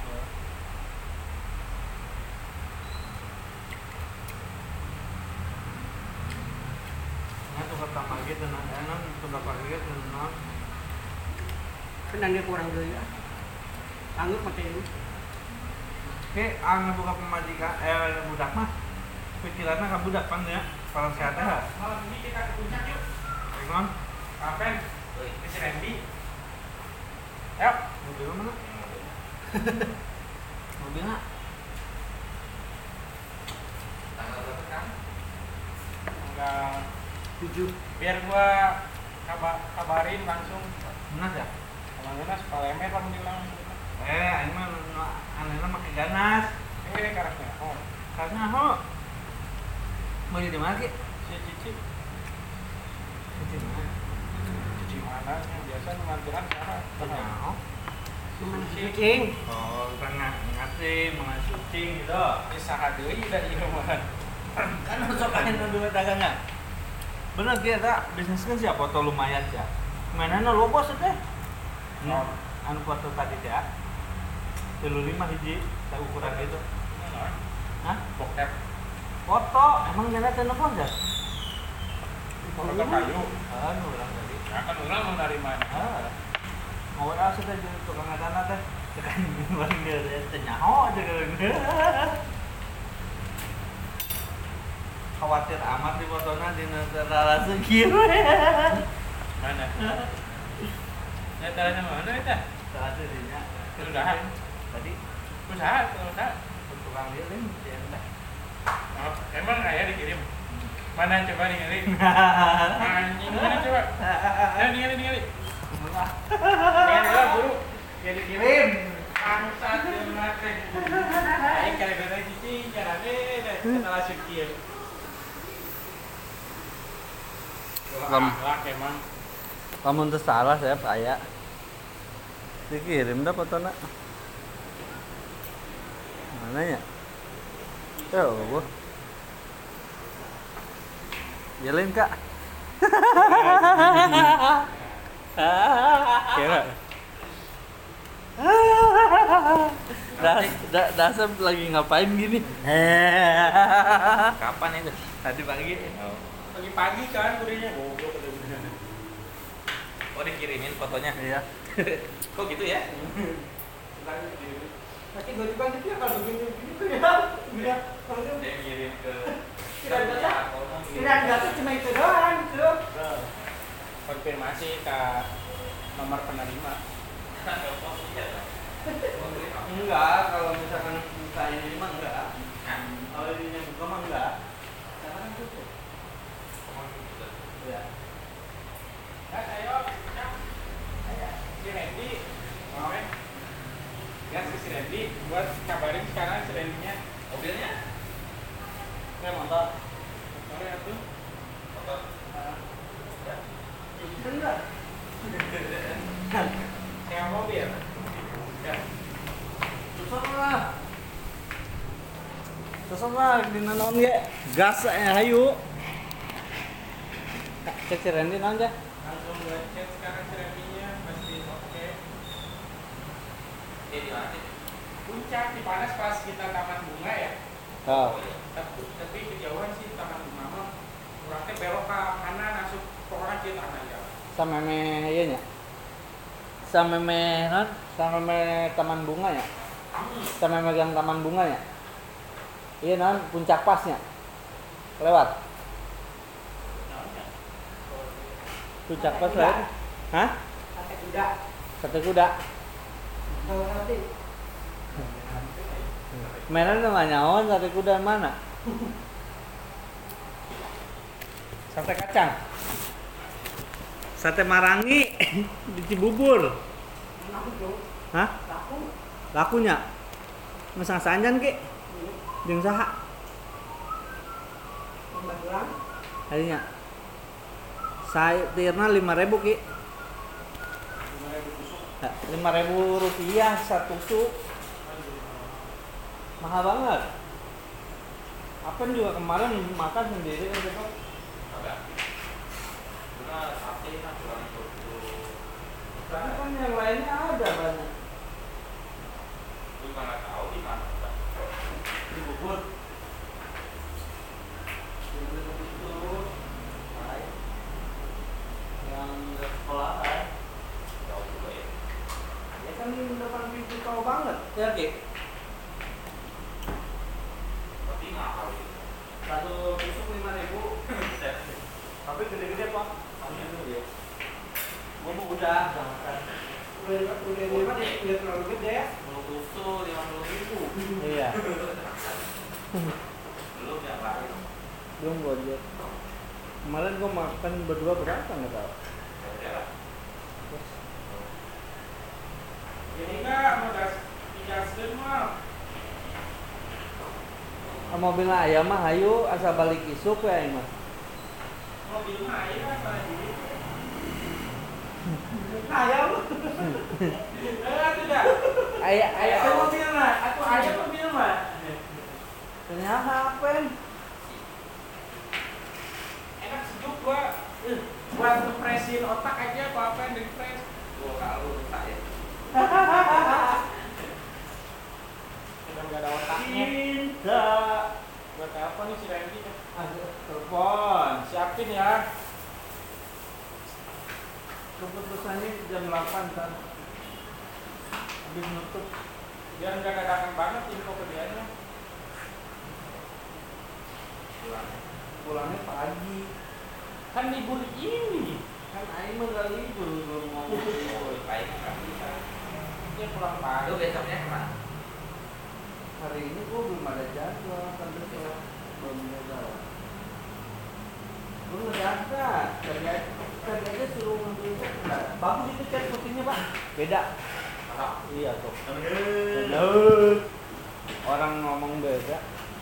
Nah, tukar tambah gitu, nah, enak tukar pakai gitu, nah. Kan dia kurang dulu ya. Anggap pakai ini. Oke, ang buka pemajikan, eh budak mah, pikirannya kan budak kan ya, kalau sehat ya. Malam ini kita ke puncak yuk. Ikon, Kapan? Ke si Randy. Ayo. mobil mana? Mobilnya? Tanggal berapa kan? Tanggal Tujuh. biar gua kabar kabarin langsung. Benar ya? Kalau ganas palemer lah diulang. Eh, ini mah anehnya pakai ganas. Eh karakter. Oh, Karena ho, mau di mana ki? si Cici. Di mana? Cici mana? Yang biasa ngambilan siapa? Tengah. Cuma Suci. kucing. Oh, tengah ngasih mengasih sucing gitu. Bisa hadeuy da ieu mah. Kan masuk kain dulu dagangnya. Bener dia tak bisnis kan siapa foto lumayan ya. Mana no lo bos teh? Oh. Anu foto tadi ya. Telu lima hiji, saya ukuran gitu. Hah? Bokep. Foto, emang jana teh nepon ya? Foto kayu. Anu orang tadi. Ya kan ulang mau dari mana? Ah. Mau asa teh jadi tukang ngadana teh. Tekan bareng dia teh nyaho aja kan. Khawatir amat di fotona di negara segir. Mana? Ya caranya mana itu? Salah dirinya. Sudah. Tadi Usaha, usaha. tukang dia lain dia entah. Oh, emang ayah dikirim? Mana coba ningali? Anjing mana coba? Ayo ningali ningali. Ningali lah buru. Biar dikirim. Bangsat jeung teh. Aing gara-gara cicing carane setelah syukir. Lam. Lah emang. Lamun teu salah saya aya. Dikirim dah fotona. Mana ya? Tuh, gua. Yelin kak. Kira. Das, da, dasar lagi ngapain gini? Kapan itu? Tadi pagi. Oh. Pagi-pagi kan kurinya goblok. Oh dikirimin fotonya. Iya. Kok gitu ya? Nanti gue juga gitu ya kalau begini gitu ya. Iya. Kalau itu Dia ngirim ke Tidak ada. ya, ngomong gitu. tidak ada tuh cuma itu doang gitu. Konfirmasi ke nomor penerima. Enggak, kalau misalkan buka ini mah enggak. Kalau ini yang buka mah enggak. Karena kan tutup. Iya. Gas ayo, cak. Ayo, si Randy. Mau ya? Gas ke si Randy. Buat kabarin sekarang si Randy-nya. Mobilnya? Saya motor. Motor ya tuh. Motor. Ya. Bisa enggak? Saya mobil. Ya. Susah lah. Susah lah di nanon ge. Gas eh hayu. Cek si Randy naon aja. Langsung gue chat sekarang si Randy-nya. Pasti oke. Dia di mana sih? Puncak di Panas pas kita taman bunga ya. Oh. Tapi, tapi kejauhan sih taman bunga mah. Kurangnya belok ke kanan masuk pokoknya kita kanan aja. Sama me ieu nya. Sama me non, sama me taman bunga ya. Sama megang taman bunga ya. Iya non, puncak pasnya. Lewat. Puncak pas lewat. Hah? Sate kuda. Sate kuda. Kalau nanti Mainan nama nyaon sate kuda mana? Sate kacang. Sate marangi di Cibubur. enak tuh. Hah? Laku. Lakunya? Masang sanjan ki? Jeung saha? Mbak Tulang. Harinya. Saya tirna lima ribu ki. lima ribu rupiah satu tusuk. Mahal banget. Apa juga kemarin makan sendiri kan besok. Agak. Benar, sate kan kurang itu. Tapi kan yang lainnya ada banyak. Gue nggak tahu di mana. Di Bogor. Di Bogor itu. Hai. Yang sekolah kan. Tahu juga ya. Ya kan di depan pintu tol banget. Ya Ki. Tapi mahal gitu. Satu tusuk lima ribu. Tapi gede-gede Pak. Soalnya tuh ya. Gua mau udah makan. Udah udah udah udah udah terlalu gede ya. Sepuluh tusuk lima puluh ribu. Iya. Belum yang lain. Belum gua lihat. Kemarin gua makan berdua berapa nggak tahu. Ya udah lah. Jadi enggak mau gas digaskeun mah. Mobil ayam mah hayu asa balik isuk ya ini mah. Mobil mah aya kan pada diri. Ayam. Eh tidak. Ayah ayah Aya mobil mah, atuh aya mobil mah. ternyata apa? Enak sejuk gua. Eh, buat ngepresin otak aja apa apa yang di-press. Gua kalau rusak ya. Udah enggak ada otaknya. Cinta. Buat apa nih si Randy? Aduh, Telepon, siapin ya. keputusannya jam delapan kan. Habis nutup. Biar enggak dadakan banget info ke dianya. Pulang. Pulangnya pagi. Kan libur ini. Kan aing mah enggak libur belum ngomong. Oh, baik nggak bisa. Dia pulang pagi. Lu besoknya kemana? Hari ini gua belum ada jadwal kan besok. Belum ada jadwal. Belum ngedadak. Tadi aja, tadi aja suruh ngambil cek. Nah, bagus itu cek putihnya Pak. Beda. Masa? Iya tuh. Bener. Orang ngomong beda.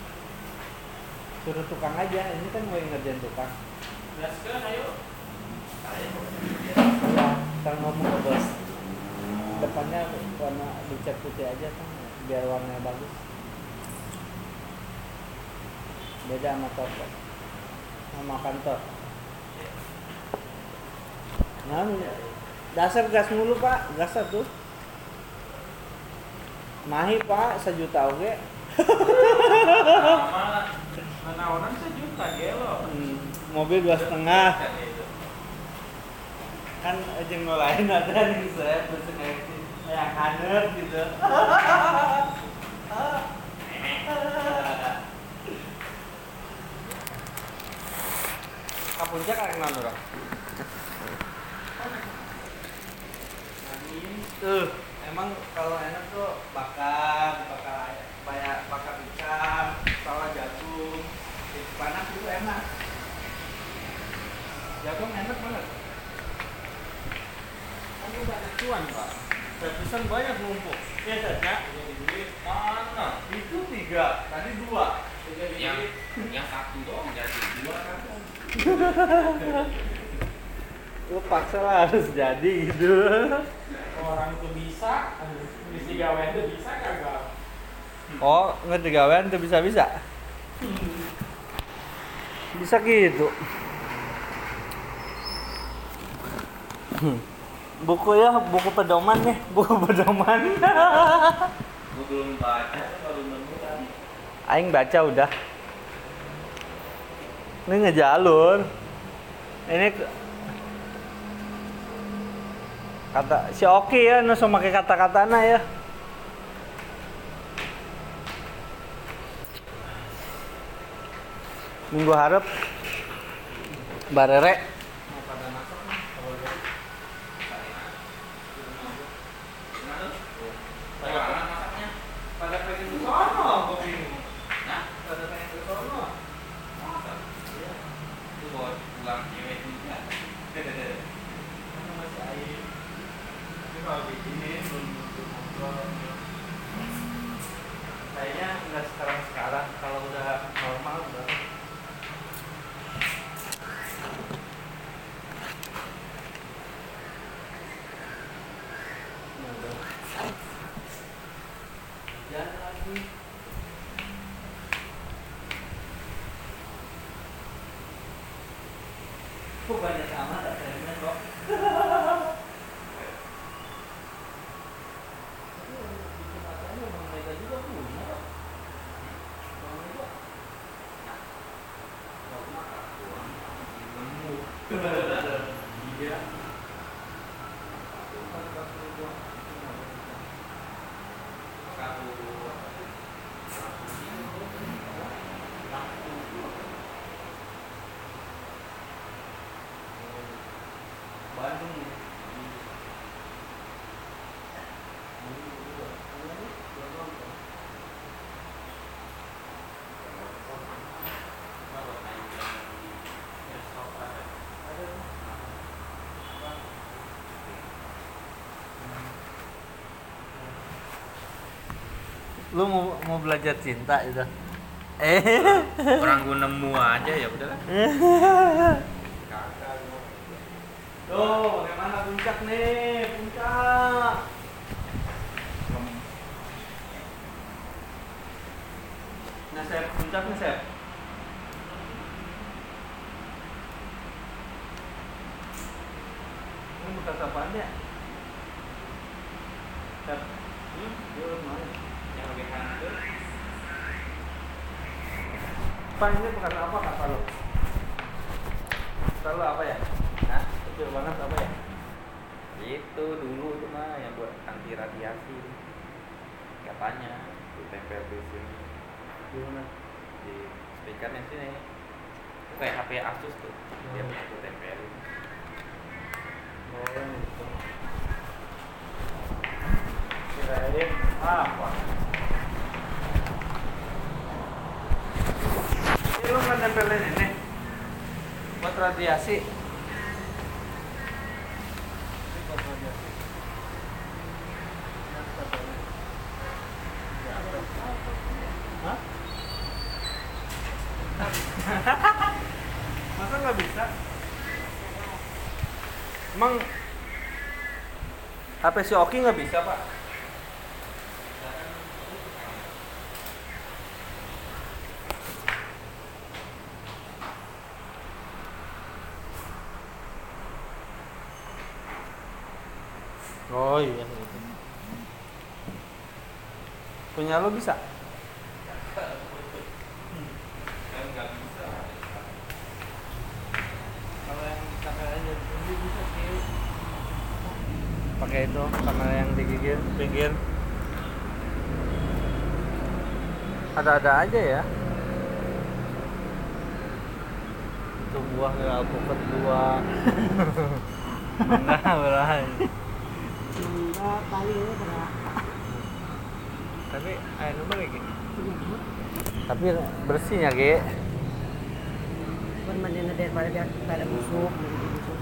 Suruh tukang aja. Ini kan gue yang ngerjain tukang. Gaskeun ayo. Ya, kan ngomong ke bos. Depannya warna dicat putih aja kan, biar warnanya bagus. Beda sama toko, sama kantor. Nah, dasar gas mulu Pak, gas tuh. Mahi Pak, sejuta oke. Sama Menawaran sejuta gelo. Hmm, mobil dua setengah. Kan jeung nu lain ada nih saya pesen yang handap gitu. Ka puncak arek naon urang? Tuh, emang kalau enak tuh bakar, bakar banyak bakar ikan, salah jagung, panas itu enak. Jagung enak banget. Kan banyak cuan pak. Saya pesan banyak numpuk. Iya saja. Jadi duit mana? Itu tiga, tadi dua. Tiga yang yang satu doang jadi dua kan. Lu paksa lah harus jadi gitu. Orang tuh bisa, bisa gawean tuh bisa kagak? Oh, ngerti gawean tuh bisa-bisa. Bisa gitu. Buku ya, buku pedoman ya, buku pedoman. Gue belum baca, baru nemu kan. Aing baca udah. Ini ngejalur. Ini ke- kata si Oki ya, nusu make kata-katana ya. Minggu harap barere Mau pada masak nih, kalau gitu. Bagaimana masaknya? pada pengen ke sono, gua bingung. Nah, Pada pengen ke sono. masak. Iya. Itu bawa pulang cewek juga. Mana masih air. Ini kalau begini belum untuk ngobrol. Kayaknya nggak sekarang-sekarang, kalau udah normal udah. Jalan lagi. Kok banyak amat akhirnya kok. Iya. Bandung. Lu mau mau belajar cinta itu? Eh. Orang gua nemu aja ya udahlah. Tuh, bagaimana puncak nih? Puncak. Nah, Sep, puncak nih, Sep. Ini bekas apaan ya? Sep. Hmm? Dia udah mana? Yang lebih kanan tuh. Pak, ini bekas apa kata lo? Kata lo apa ya? Hah? Kecil banget apa ya? Itu dulu itu mah yang buat anti radiasi. Katanya tuh tempel di sini Di mana? di speakernya sini. Itu kayak H P Asus tuh. Dia punya tuh tempelin. Oh, itu. Kirain apa? Ini lu nggak nempelin ini buat radiasi. Ini buat radiasi. Hah? Masa nggak bisa? Emang H P si Oki nggak bisa pak? Oh iya gitu. Punya lo bisa? Kan nggak pakai itu kamera yang di pinggir pinggir. Ada-ada aja ya. Itu buah ya alpukat dua. Enggak berai. Enggak, paling ini berat. Tapi air nomor lagi. Tapi bersihnya Ge. Kan mandinya daripada dia ada busuk, jadi busuk.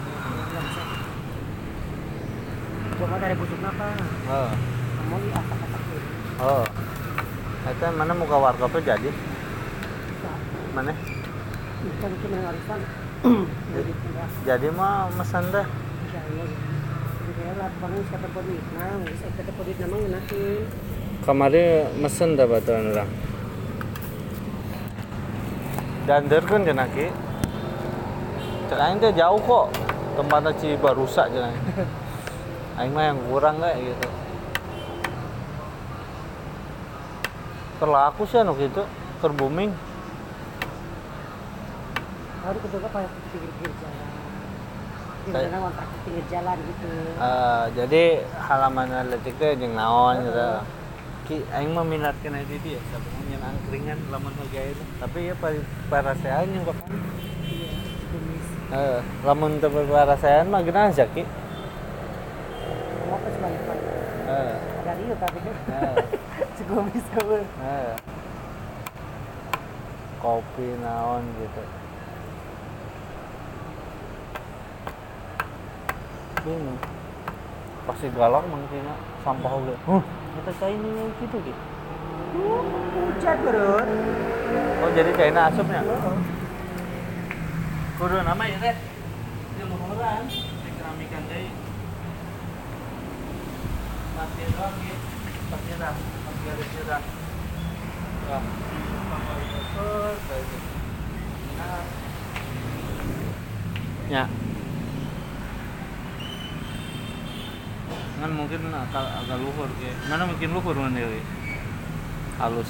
Coba dari busuk apa? Oh. Kamu ini asak-asak dulu. Oh. Itu mana muka warkop jadi? Mana? Bukan itu menang arisan. Jadi pindah. Jadi mah mesan deh. Jadi kayak lah bangun siapa podit. Nah, bisa kita podit namanya ngenakin. Kamarnya mesen dah batuan orang. Dander kan cenah Ki. Cek aing teh jauh kok. Tempatnya Cibarusa cenah. Aing mah yang kurang kayak gitu. Terlaku sih anu gitu, keur booming. Harus kedua apa pinggir-pinggir jalan. Pinggir Saya- jalan kontrak pinggir jalan gitu. Eh, jadi halaman atletik teh jeung naon gitu. Ki aing mah minat kana itu dia, sabenernya angkringan lamun harga itu. Tapi ya pari- parasean yang bakal. Iya, jenis. Eh, lamun teu parasean mah geunaha aja Ki. Kamu apa sebagai apa? Eh, Dari itu tapi kan. eh, Segomis kamu. eh. Kopi naon gitu. Bingung. Pasti galak mangkina sampah oge. Huh, eta China yang gitu gitu. Hujan berut. Oh, jadi China asupnya. Heeh. Kudu nama ya teh. Yang luhuran, di keramikan deui. Masih doang gitu. Pasti dah, pasti ada sirah. Wah, terus kayak gitu. Nah. Ya. Kan mungkin agak, agak luhur kayak. Mana mungkin luhur mana deui? Halus.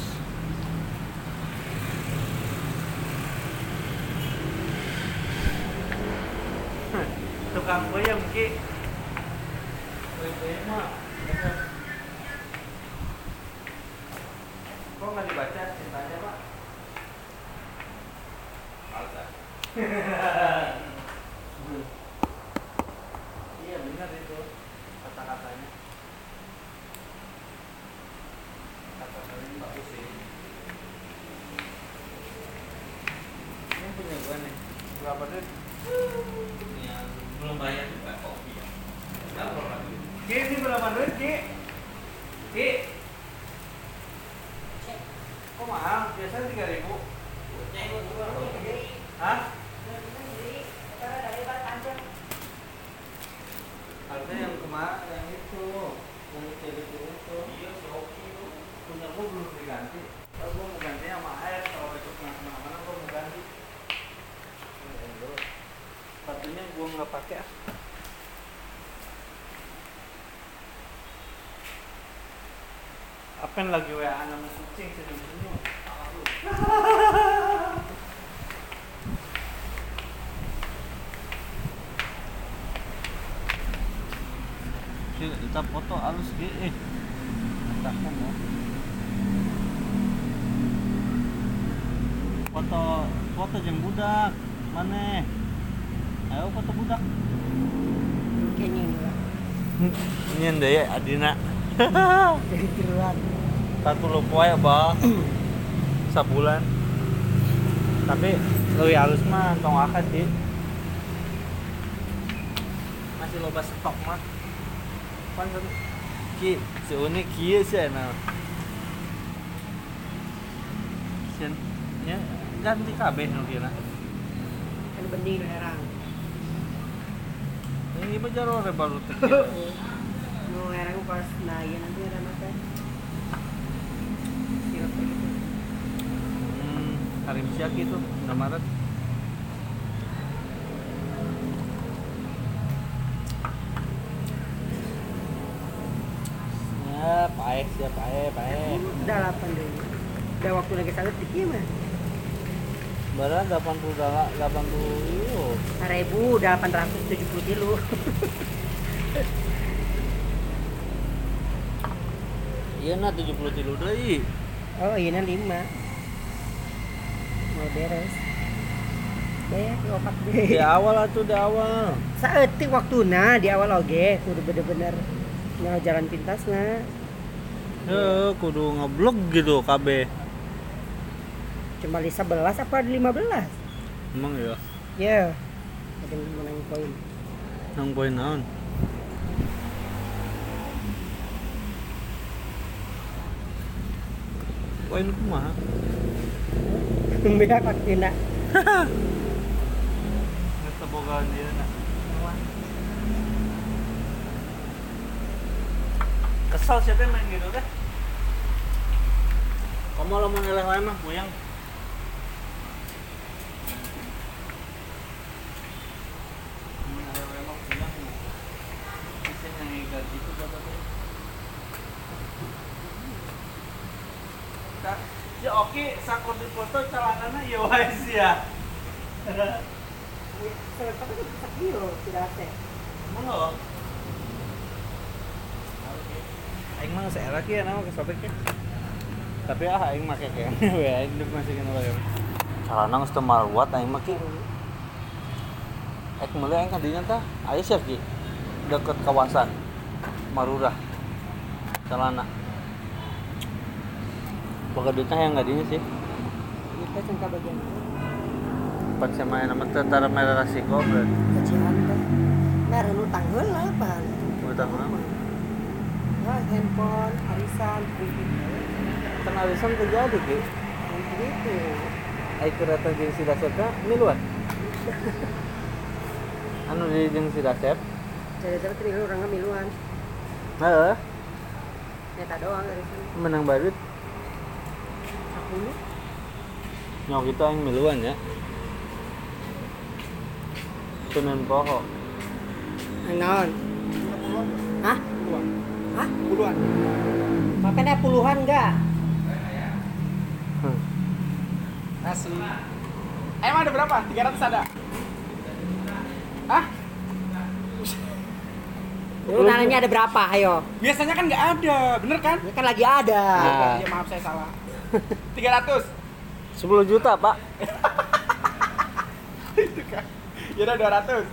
Tukang peyem Ki. Peyem mah. Kok nggak dibaca cintanya Pak? Alsa. Iya benar itu kata-katanya. Kata-katanya bagus sih. Ini punya gua nih. Berapa duit? Yang belum bayar juga kopi ya. Enggak berapa duit? Ki ini berapa duit Ki? Ki? Kok mahal? Biasanya tiga ribu. Hah? Harusnya yang kemarin yang itu, yang cewek itu. Iya, si Oki itu. Punya gua belum diganti. Kalau gua mau ganti sama air, kalau besok nggak kemana-mana gua mau ganti. Sepatunya gua nggak pakai. Ah. Apa yang lagi W A nama kucing senyum-senyum? Kita foto halus ge eh. Takkan mau. Foto foto jeung budak. Mana? Ayo foto budak. Kayaknya ini lah. Nyen deui adina. Jadi tiruan. Satu lu poe Bang. Sabulan. Tapi leuwih halus mah tong akad sih. Masih loba stok mah. Pan Ki, si unik kieu sih nah. Sieun nya ganti kabeh nu kieu. Kan bening nu herang. Ini mah jaro baru teh. Nu herang pas nah ieu nanti ada mata. Sirup gitu. Hmm, Karim Syaki itu enam Maret. Ya, paeh, siap paeh, paeh. Udah delapan deh. Udah waktu lagi salut dikit mah. Barang delapan puluh delapan puluh euro. Seribu delapan ratus tujuh puluh kilo. Iya nah tujuh puluh tilu deui. Oh iya lima. Mau beres. Deh, opat Di deh. awal atuh di awal. Saeutik waktuna di awal oge kudu bener-bener nyawa jalan pintasna. Heuh, kudu ngeblok gitu K B. Cuma di sebelas apa di lima belas? Emang ya. Ya. Ada yang menang poin. Nang poin naon? Poin kumaha? Beda waktuna. Geus bogaan ieu na. Kesal siapa yang main gitu teh? Kamu lo mau ngeleh mah puyang. Ya oke, sakor di foto celanana ya wae sih ya. Tapi itu bisa kilo, tidak ada. Emang lo? Aing mah seera kieu nama ke sobek ya. Tapi ah aing make ke we aing deuk masukin wae. Celana geus teu maruat aing mah kieu. Ek meuli aing ka dinya tah aya sia ki deket kawasan Marurah. Celana. Boga duitnya yang enggak dinya sih. Kita cengka bagian Pas sama nama tentara merah resiko berarti. kecilan teh. Meren utang heula pan. Utang mah. Wah, handphone, arisan, kredit. Kan arisan terjadi ki. Gitu. Aing kereta jeung si Dasepna miluan. Anu di jeung si Dasep. Jadi-jadi tri orang miluan. Heeh, Nyata doang arisan. menang barit. sepuluh. Nyok kita yang miluan ya. Senin poho. Naon? Hah? Hah? Puluhan. Makanya puluhan enggak? Hmm. Asli. Emang ada berapa? tiga ratus ada? Hah? Lu nanya ada berapa? Ayo. Biasanya kan nggak ada, bener kan? Ini kan lagi ada. Ah. Ya maaf saya salah. tiga ratus. sepuluh juta, Pak. Itu kan. Ya udah dua ratus.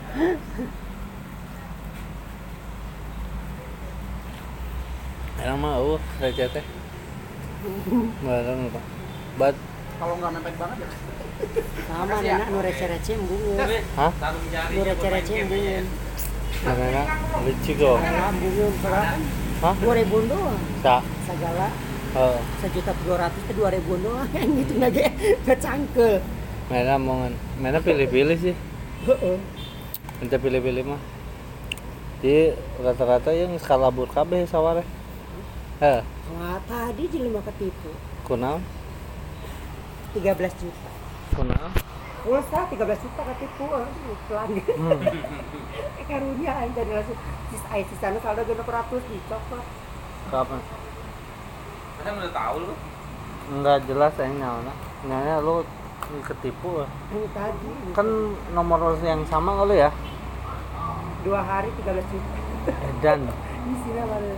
Emang mah uh receh teh. Barang Pak. Bat Kalau nggak mepet banget ya. Sama Makasih ya. anak nu receh-receh embungeun. hah? Tarung jari. Nu receh-receh embungeun. Mana lucu kok. Segala embungeun berapa kan? Hah? dua ribuan doang. Sa. Segala Heeh. sejuta dua ratus ke dua ribuan doang. Yang itu lagi kecangkel. Mana mongan. Mana pilih-pilih sih. Heeh. Minta pilih-pilih mah. Di rata-rata yang skalabur kabeh saware. Heh, Wah, tadi di lima ketipu. kunaon? tiga belas juta. Kunaon? Pulsa tiga belas juta ketipu. Pelan. Hmm. Eh karunya aing jadi langsung sis ai sisana saldo genep ratus dicokot. Kapan? Kadang udah tahu lu. Enggak jelas aing naonna. Nanya lu ketipu. Ini tadi Kan nomor yang sama kali ya? dua hari tiga belas juta. Dan Isinya mana?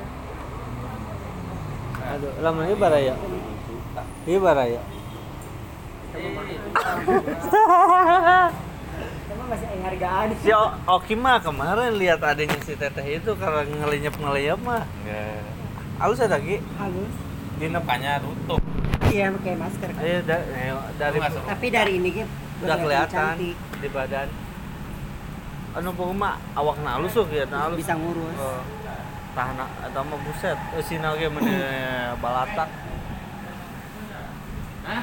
aduh, lama ini baraya. Iya baraya. Cuma masih aing hargaan. Si O- Oki mah kemarin lihat adanya si Teteh itu karena ngelinyap-ngelinyap mah. Halus ada Ki? Halus. Dina banyak tutup. Iya pakai masker. Ayo da- ayo, dari Lu nggak suka? Tapi dari ini gitu udah kelihatan cantik. di badan. Anu pokoknya awakna halus tuh ya, halus. Bisa ngurus. Oh, tahan atau mah buset, sina ge mene balata. Hah?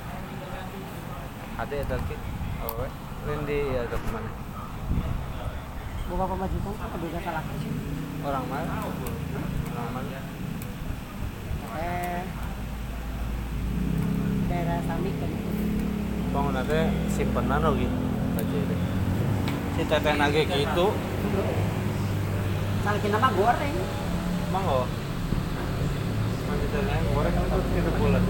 Hati ada Ki. Oh, we. Rendi ya ke mana? Buka pemajukan ada gak salah sih. Orang mana? Orang mana? Eh daerah Samik kan. Bangun teh simpenan lagi. Kaje deh. Si Teteh nage gitu. Salah kita mah goreng. Mangga. Masih Teteh goreng kan itu kita bulan.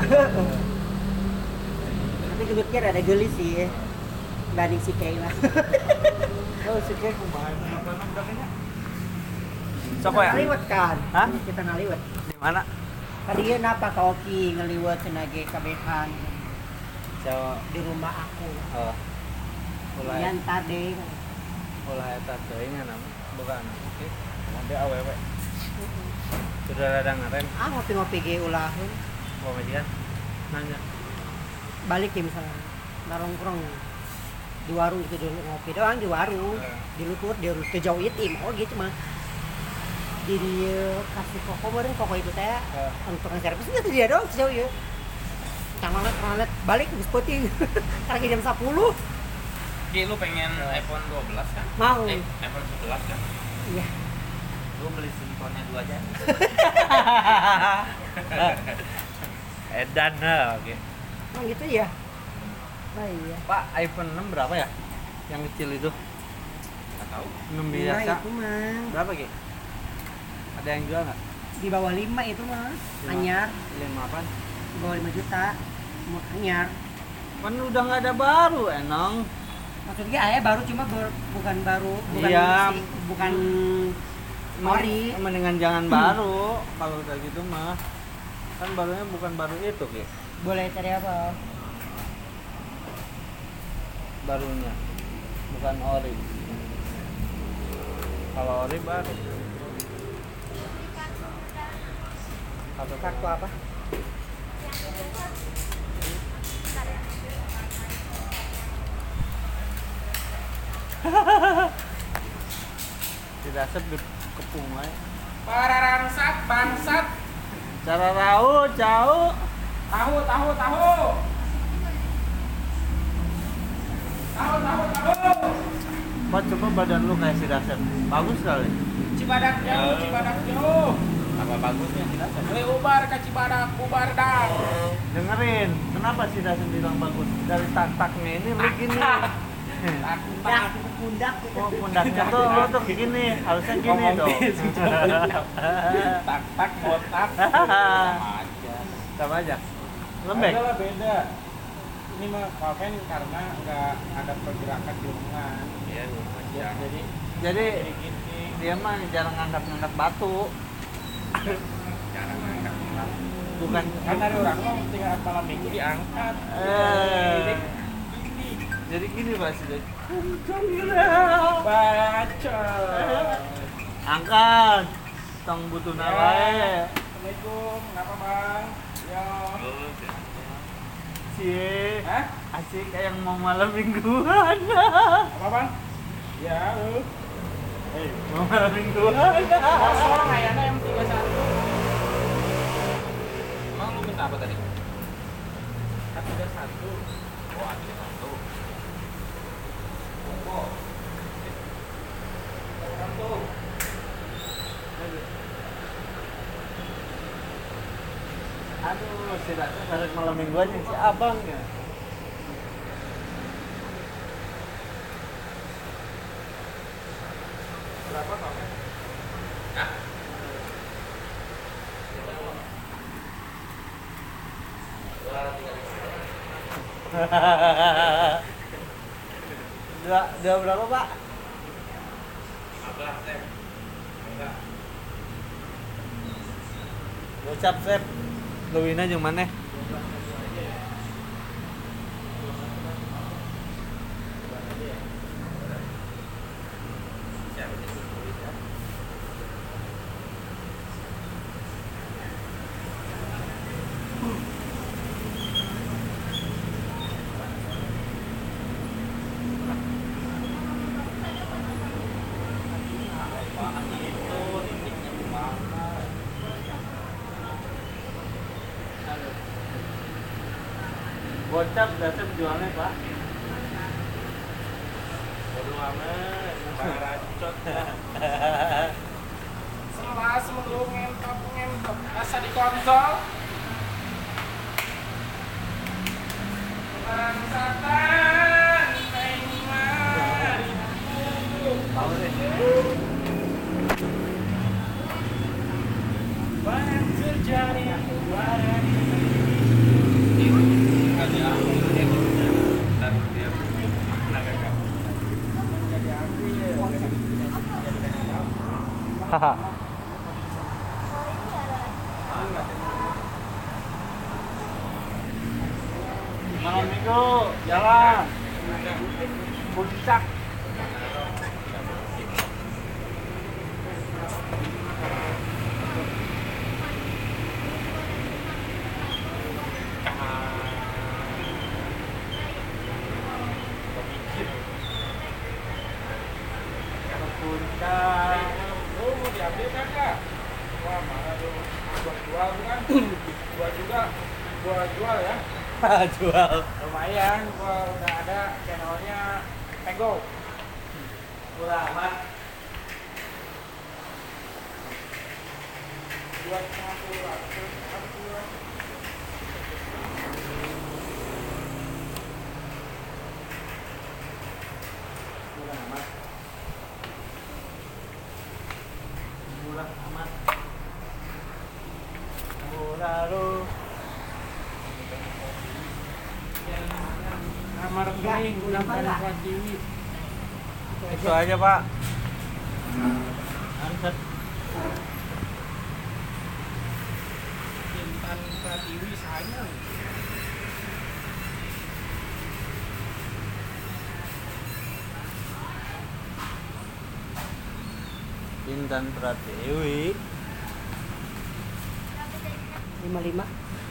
Tapi gedutnya ada gelis sih. Banding si Kay lah. Oh, si Kek kumaha makanan dakenya. Sok ya? Ngaliwat kan? Hah? Kita ngaliwat. Di mana? Tadi napa ka Oki ngeliwat cenage kabehan Jawa di rumah aku. oh ulah Yan tadi. ulah eta teuing nama bukan oke ada awewe sudah ada ngaren Ah ngopi-ngopi ge ulaheun. mau majikan nanya Balik ya misalnya. Narongkrong di warung gitu dulu ngopi doang di warung. Di luhur di teu jauh ieu oh gitu mah. Di dieu kasih koko meureun koko itu teh untuk tukang servis itu dia doang jauh ieu. Cangalet cangalet balik geus peuting. Karena jam sepuluh. Ki lu pengen iPhone dua belas kan? Mau. Eh, iPhone sebelas kan? Iya. Lu beli simponnya dua aja. edan nah oke Oh gitu ya. Oh iya. Pak iPhone enam berapa ya yang kecil itu Enggak tahu. enam Nah, biasa itu mah berapa Ki ada yang jual nggak di bawah lima itu mah. Lima. Anyar, lima apa di bawah lima juta. Mau anyar. kan udah nggak ada baru enong Maksudnya ayah baru cuma ber- bukan baru, bukan Iya. si- bukan Mari, ori. mendingan jangan baru kalau udah gitu mah. Kan barunya bukan baru itu, Ki. Boleh cari apa? Barunya. Bukan ori. Kalau ori baru. Kartu Kartu apa? tidak asap di kepung wae. Para rangsat, bangsat. Cara raut, jauh. Tahu, tahu, tahu. Tahu, tahu, tahu. Pak, coba badan lu kayak si Dasep. Bagus sekali. Cibadak jauh, Cibadak jauh. Apa bagusnya tidak? Boleh ubar ke Cibadak, ubar dah. Dengerin, kenapa si Dasep bilang bagus? Dari tak-taknya ini lu gini. Pundak, itu pundak. Oh, pundaknya tuh lu tuh gini, harusnya gini dong. Tak tak botak. Sama aja. Sama aja. Lembek. Adalah beda. Ini mah kafen karena nggak ada pergerakan di lengan. Iya, ya, jadi Jadi jadi gini. dia mah jarang ngangkat-ngangkat batu. Jarang angkat. Bukan Kan dari orang mah tinggal malam minggu diangkat. Eh. Jadi Jadi gini Pak Sidi. baca. Angkat. Tong butuna Ya. wae. Assalamualaikum, kenapa bang? Yo. Cie. Hah? Asik kayak mau malam mingguan. Apa bang? Ya, lu. Eh, mau malam mingguan. Kosong kayaknya M tiga puluh satu. Emang lu minta apa tadi? M tiga puluh satu. Oh, M tiga puluh satu. Oh. Satu. Aduh, si Ratu balik malam mingguan yang si abang ya. Berapa kamu? Hah? Dua, dua berapa Pak? lima belas, Tem. Enggak. Ucap Sep. Luwina jeung maneh? Siapa sih? Gocap Dasep jualnya Pak. Bodo amat, baracot. Selas melu ngentok ngentok asa di konsol. Bangsatan, teng mari. Tahu deh. Banyak terjadi pada Haha. Malam minggu jalan. Puncak. Puncak. Lu mau diambil kagak? Wah, mana lu? Gua jual kan? Gua juga gua jual ya. Jual. Lumayan, gua udah ada channelnya Pego. Murah amat. Dua setengah puluh ratus. Murah amat. Murah amat. Murah lu. Kamar kering udah pada buat T V. Itu aja, Pak. Anset. Intan T V saya. Intan Pratiwi. lima lima.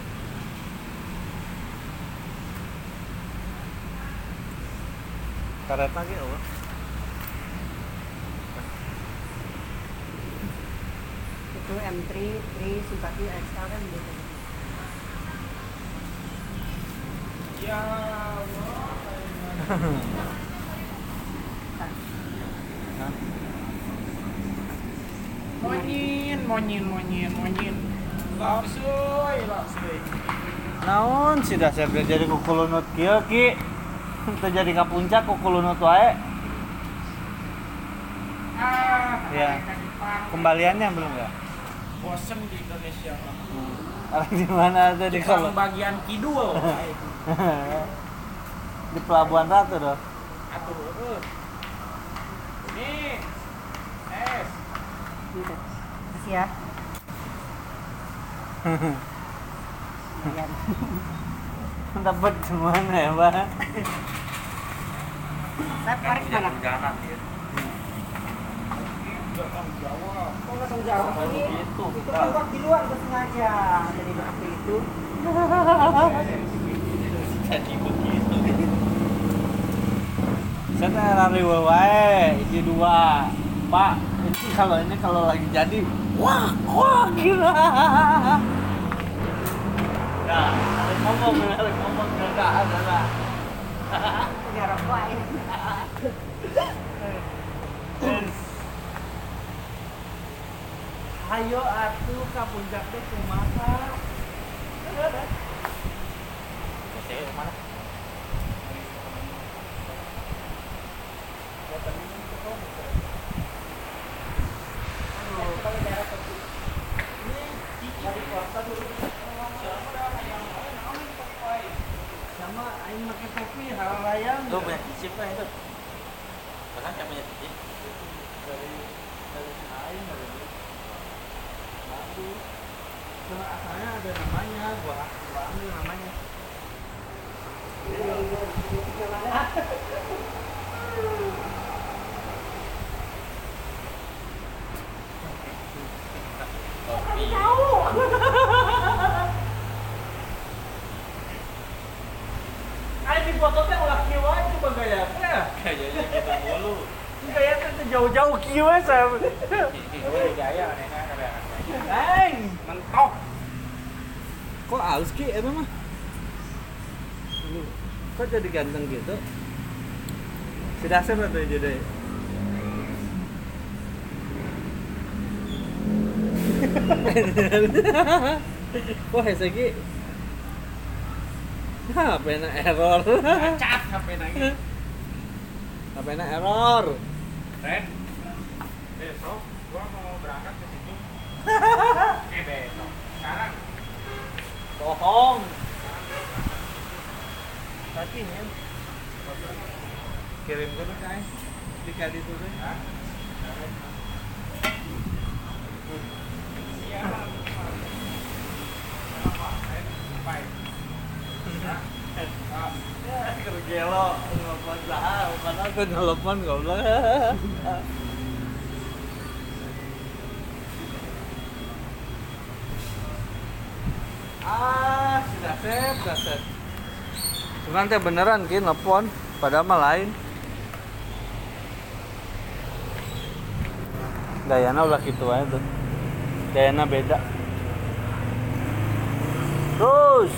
Karet lagi apa? Itu M tiga, tiga simpati ekstra kan gitu. Ya Allah. Monyin, monyin, monyin, monyin. Lapsuy, lapsuy. Naon sih dasar jadi kukulunut kieu ki? Teu jadi ka puncak kukulunut wae. Ah, Iya. mereka di park. Kembaliannya belum ya? Bosen di Indonesia. Sekarang di mana tadi kalau Tukang bagian kidul. di Pelabuhan Ratu doh. Atuh, uh. Ini es. Gitu. Kasih ya. Lumayan. Dapat gimana ya, Pak? Saya parek mana? Jalan ya. Orang Jawa. Oh, nggak tahu jawab ini. Gitu. Itu kan gua di luar gua sengaja. Jadi waktu itu. Jadi begitu. Saya teh lari wae, hiji dua. Pak, ini kalau ini kalau lagi jadi, wah, wah gila. Nah, ada ngomong, ada ngomong enggak ada lah. Punya rokok ya. Ayo atuh ka puncak teh kumaha? Saya mana? Sama aing make topi hal layang. Lu punya cicip kan itu? Bahkan saya punya cicip. dari dari aing dari bagus. Cuma asalnya ada namanya, gua gua ambil namanya. Kopi. Aing di foto teh ulah kieu wae coba gaya teh. Kayaknya gitu mulu. Gaya teh jauh-jauh kieu we saya. Ini gaya anehnya ada. Aing, Mentok. kok halus ki eta mah? Ini kok jadi ganteng gitu? Si dasar atau jadi? Kok hese ki? H P-na error. Cat H P lagi. H P-na error. Ren. Besok gua mau berangkat ke situ. Eh besok. Sekarang. Bohong. Tapi nih. Kirim gue tuh kai. Di kali itu tuh. Hah? Iya. Kenapa? Ren, apa? Hah? Kerja lo nelfon lah, bukan aku nelfon goblok. Ah, sudah set, sudah set. Cuman teh beneran ki nelfon, padahal mah lain. Gayana ulah gitu aja tuh. Gayana beda. Terus.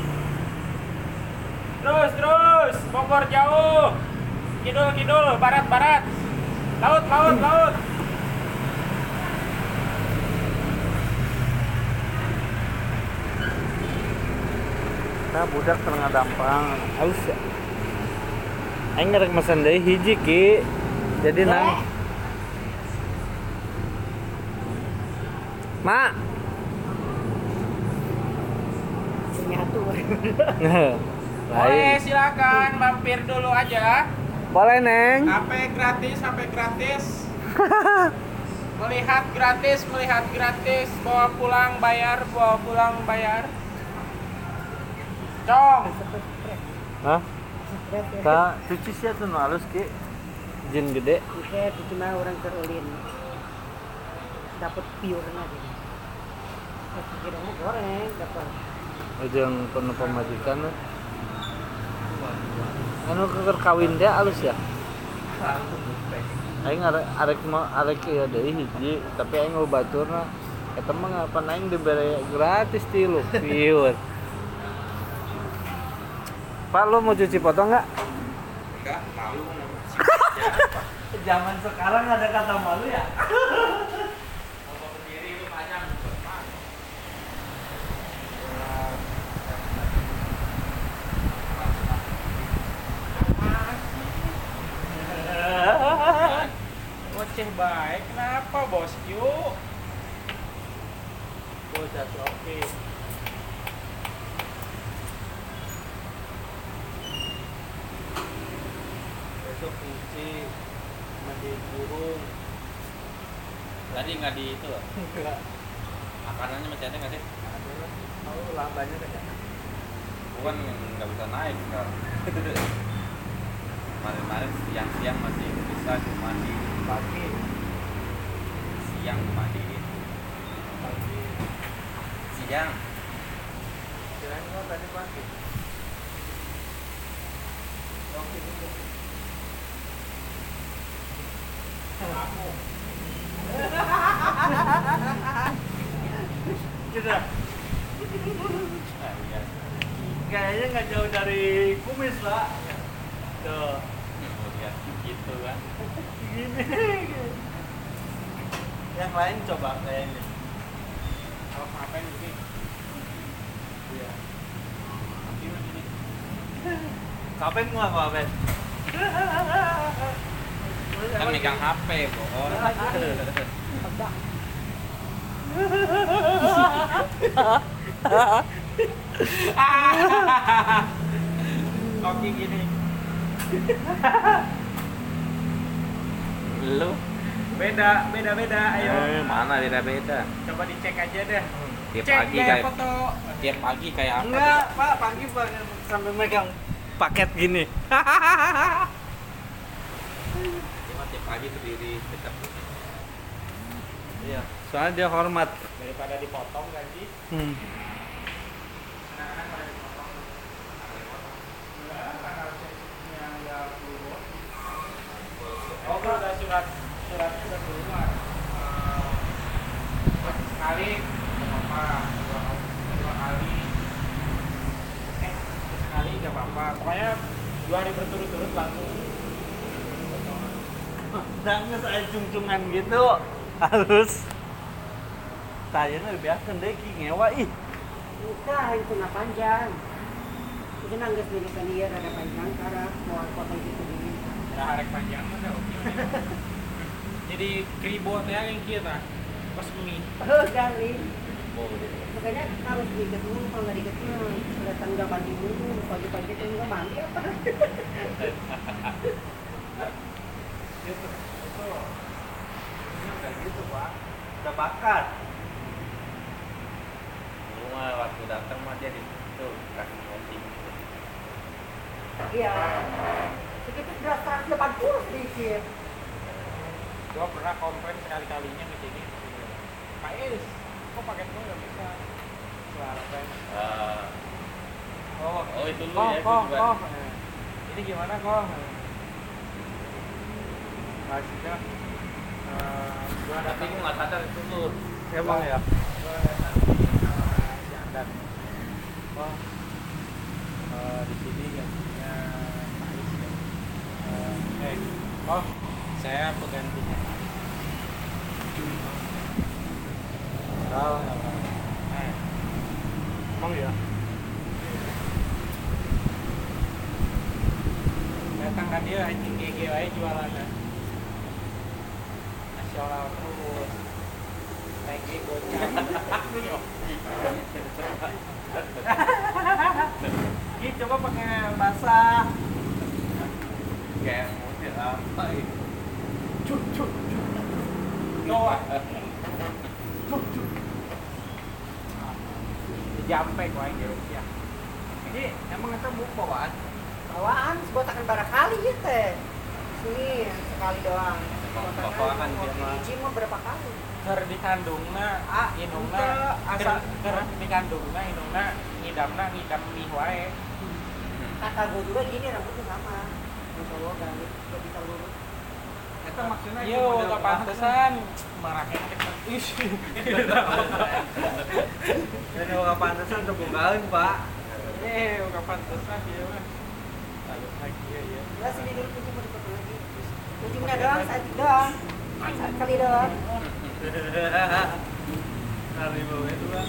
Terus, terus. Bogor jauh. Kidul, kidul. Barat, barat. Laut, laut, laut. Nah, budak tengah dampang. Halus ya. Aing ngerek mesen deui hiji ki. Jadi nang. Mak. Nyatu. Boleh, silakan mampir dulu aja. Boleh, Neng. H P gratis, H P gratis. Melihat gratis, melihat gratis. Bawa pulang bayar, bawa pulang bayar. Cong. Hah? Ka cuci sia tuh nu halus ki. Jin gede. Oke, itu mah orang terulin. Dapat piurna gitu. Kira mau goreng dapat. Ujung penuh pemajikan. Anu keur kawin teh halus ya. Aing arek arek mah arek ya deui hiji, tapi aing mau baturna eta mah ngapan aing dibere gratis tilu piur. Pak, lo mau cuci foto nggak? Enggak, malu. Zaman sekarang ada kata malu ya? Foto sendiri itu panjang. Ngoceh baik, kenapa bos? Yuk. Bocah oke. Besok cuci mandi burung. Tadi nggak di itu loh. Enggak. Makanannya masih ada nggak sih? Mau lambannya kan ya? Bukan nggak bisa naik sekarang. Kemarin-kemarin siang-siang masih bisa cuma di Pagi. siang mandi. Pagi. Siang. Kirain lo tadi pagi. Oke gitu. Aku. Sudah. Nah, iya. Kayaknya nggak jauh dari kumis lah. Tuh. Oh, lihat gitu kan. Gini. Yang lain coba kayaknya. Kalau ngapain ini? Iya. Gimana ini? Kapan gua ngapain? Kan megang H P, bohong. Oke gini. Lu? Beda, beda, beda. Ayo. Eh, mana beda-beda. Coba dicek aja deh. Tiap Cek pagi gaya kayak foto. tiap pagi kayak apa? Enggak, Pak, pagi Pak sampai megang paket gini. Cuma tiap pagi berdiri tetap. Iya, soalnya dia hormat. Daripada dipotong gaji. Hmm. Anak-anak pada dipotong. Enggak, karena ceknya nggak keluar. Oh, kalau udah surat suratnya udah keluar. Eh, sekali nggak apa-apa, dua, dua kali, eh sekali nggak apa-apa. Pokoknya dua hari berturut-turut langsung. Jangan saya cung-cungan gitu. Halus. Saya nih biasa deh ki ngewa ih. Bukan, itu nggak panjang. Itu nangis dulu kan dia ada panjang karena mau potong gitu dulu. Udah harek panjang udah oke. Jadi kribo teh yang kita pas mie. Oh, kali. Oh, Makanya harus diikat dulu, kalau nggak diikat dulu kelihatan nggak mandi dulu. Pagi-pagi tuh nggak mandi apa? Gitu. Itu. Ini udah gitu, Pak. Udah bakat. lu mah waktu datang mah dia di tuh kasih posting. Iya. Sedikit beras seratus delapan puluh sedikit. Gua pernah komplain sekali-kalinya ke sini. Pak Is, kok paket gua nggak bisa? Suara pen. Ah, Oh, oh itu lu kok, ya, kok, gua juga. kok. Ini gimana kok? Maksudnya, eh, gua Tapi datang gua nggak sadar itu tuh. Emang ya? gua datang sama si Andan. Oh, eh, di sini gantinya Pak Is ya. Eh, eh, oh, saya penggantinya Pak Is. Tahu nggak? Eh, Emang ya? datang kan dia anjing G G aja jualan ya. Nasional terus. T G gocap. Ini coba pakai basah. Kayak mobil apa itu? Cuk cuk cuk. Noah. Cuk cuk. Jampe kau aja ya. Ini emang itu buku bawaan. Bawaan sebotakan barangkali ya teh. Sini sekali doang. Emang Botakan bawaan mau dia mah. biji mah berapa kali? Ker dikandungna, Ah, inungna, ente ker, asa- ker dikandungna, inungna, ngidamna, ngidam mie wae. Kata gue juga gini rambutnya sama. Masya Allah ganti gak bisa lurus. Itu maksudnya Yo, gak pantesan. Marahnya kita. Ih. Jadi nggak pantesan terbukain pak. Eh, gak pantesan dia mah. Lalu lagi ya, ya. Udah sini dulu kunci mau dipotong lagi. Kuncinya doang, satu doang. Satu kali doang. Hari bawah itu bang.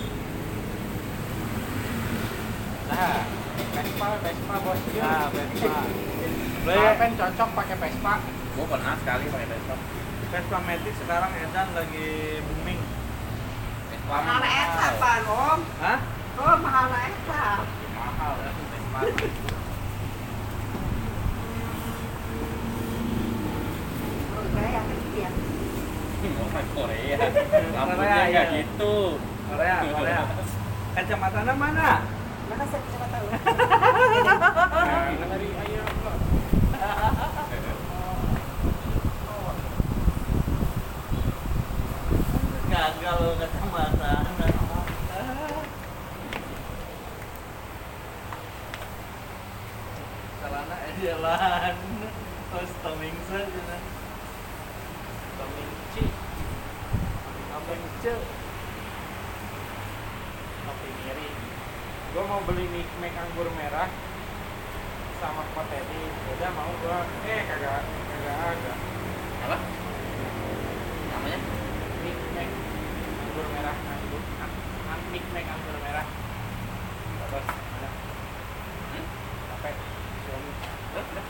Nah, Vespa, Vespa bos. Nah, Vespa. Boleh kan cocok pakai Vespa. Gua pernah sekali pakai Vespa. Vespa Matic sekarang edan lagi booming. Vespa Mahal eta apa, Om? Hah? Oh, mahal eta. mahal ya Vespa. Menurut saya yang kecil ya. Orang Korea. Korea, Lampunya iya. nggak gitu. Korea, Korea. Kacamatanya mana? Mana saya bisa tahu? Nah, dari ayam lah. Gagal lo kacamata. Karena jalan. Terus toming saja. Tomingci. Tomingci. Kopi miring. Gua mau beli Nick Mac anggur merah sama Potedi. Udah mau gua. Eh kagak kagak ada. Apa? Namanya? Nick Mac anggur merah anggur. An Nick Mac anggur merah. Terus ada. Hmm? Sampai suami. Udah, udah.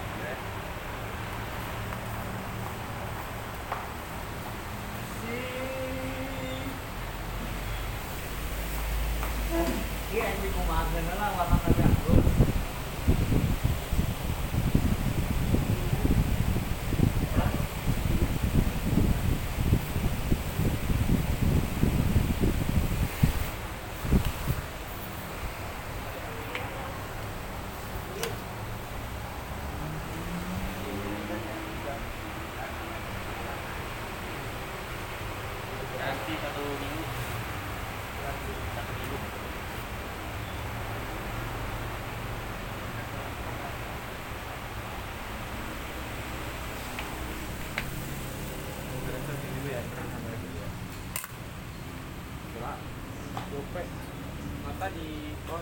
Iya, ini kumakan lah warna anggur. Nanti satu minggu. Satu minggu. Gope. Mata di oh.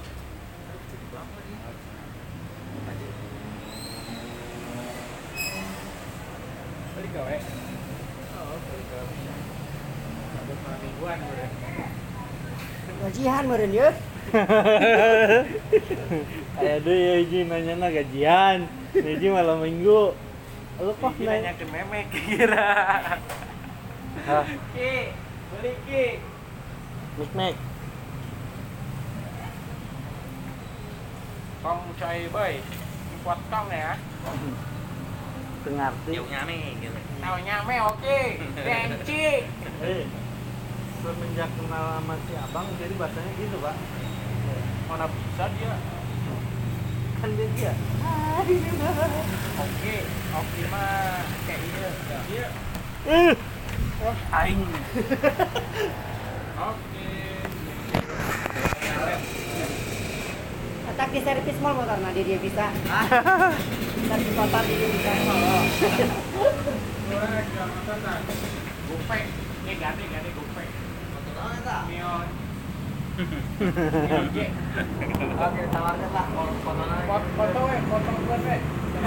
Beli gawe. Oh, beli gawe. Ada malam mingguan udah. Gajian meureun yeuh. Kayak deh ya Iji nanya na gajian. Iji malam minggu. Lu kok Iki nanya? nanya ke memek kira. Hah? Ki, beli ki. Nik nik. Kong coy boy. Dipot kong ya. Ngerti. Jauh nyame gitu. Tahu nyame oke. Benci. Eh, semenjak kenal sama si abang jadi bahasanya gitu pak. Mana bisa dia? Kan dia dia. Oke, oke mah kayak iya. Iya. Eh, Aing. Oke. tak di servis mall motor nah dia, dia bisa. Servis total dia bisa. Gopay. Ini ganti ganti gopay. Betul eta. Mion. Oke, tawarkan lah foto-fotonya. Foto we, foto buat we.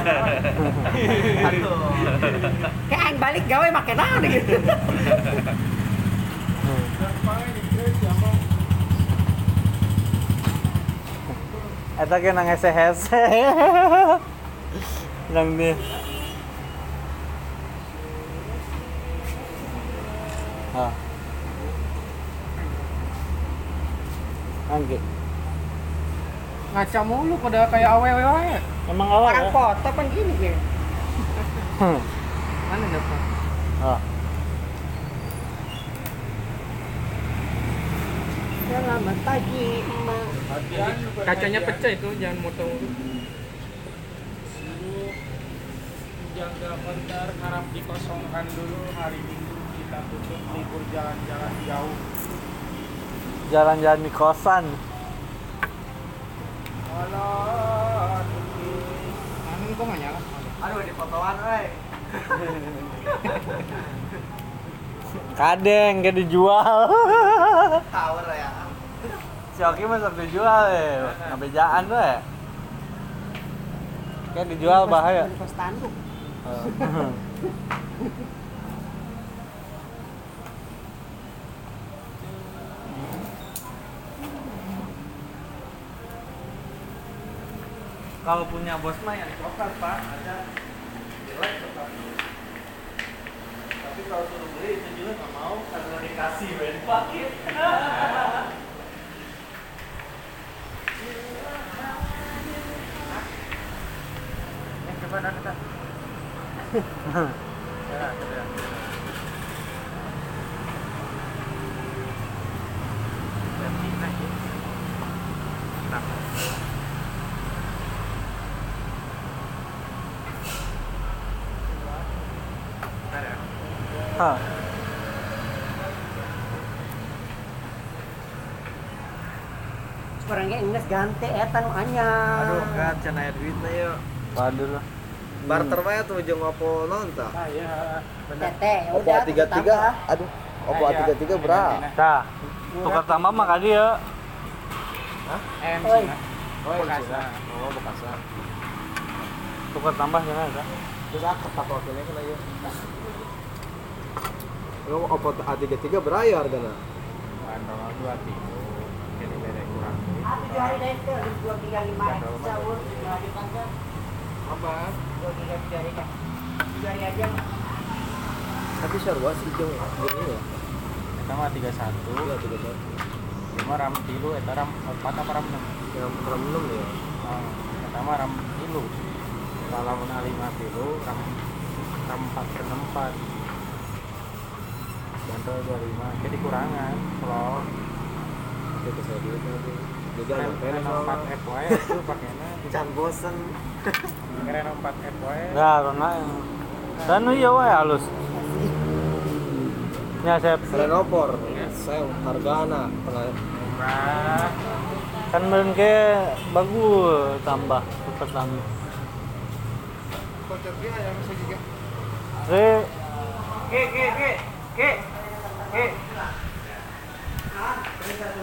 Aduh. Kayak aing balik gawe make naon gitu. Eta ge nang hese-hese. Nang dia. Ah. Angge. Ngaca mulu pada kayak awewe wae. Emang awal Orang ya? foto kan gini gitu. Mana dapat? Ah. Selamat pagi, Emak. Kacanya pecah itu, jangan motong. Jaga konter harap dikosongkan dulu hari Minggu kita tutup libur jalan-jalan jauh. Jalan-jalan di kosan. Alah, anu kok nggak nyala? Aduh, di fotoan, weh. Kadeng, kayak dijual. Tower ya. Si Oki mah dijual ya. Ngabejaan weh. Kayak dijual bahaya. Kos tanduk. Kalau punya bos mah yang coklat pak, ada jelek coklat. Tapi kalau suruh beli itu juga nggak mau karena dikasih ben pakai. Eh, coba dah kita. Ya, ya. Hah. Orangnya Ines ganti eta nu anyar. Aduh kan can aya duitna yuk. Waduh lah. Barter wae tuh jeung Oppo nonton. Saya Tete, ya Oppo udah. A tiga tiga, aduh, Oppo A tiga tiga berapa? Tah. Tukar tambah mah ka dieu. M Oi. Cina. Oh, Bekasa. Oh, Bekasa. Tukar tambah cenah eta. Terus aku tato kene kena ieu. Lo Oppo A tiga tiga berapa ya hargana? Bandung dua tiga. Jadi beda kurang. Ah, tujuh hari deh itu, dua tiga lima sahur, dua hari panjang, Apa? dua tiga tujuh hari kan. Tujuh hari aja. Tapi sarua sih jeung gini ya. Kita mah tiga satu. Iya, tiga satu. Lima ram tilu, eta ram empat apa ram enam? Yang ram enam ya. Oh, kita mah ram tilu. Kalau mun lima tilu, ram ram empat ke enam empat. Bantu dua lima, jadi kurangan. Kalau Itu saya duit nanti. Jadi keren ada pen empat F Y itu pakainya. Can bosen. Keren empat F Y. Nah, karena dan iya wae halus. Ya, Sep. Renopor. Saya hargana tengah Murah. Kan meureun ke bagus tambah tukar tambah. Kocoknya ayam segiga. Re, Ke ke ke ke ke. Satu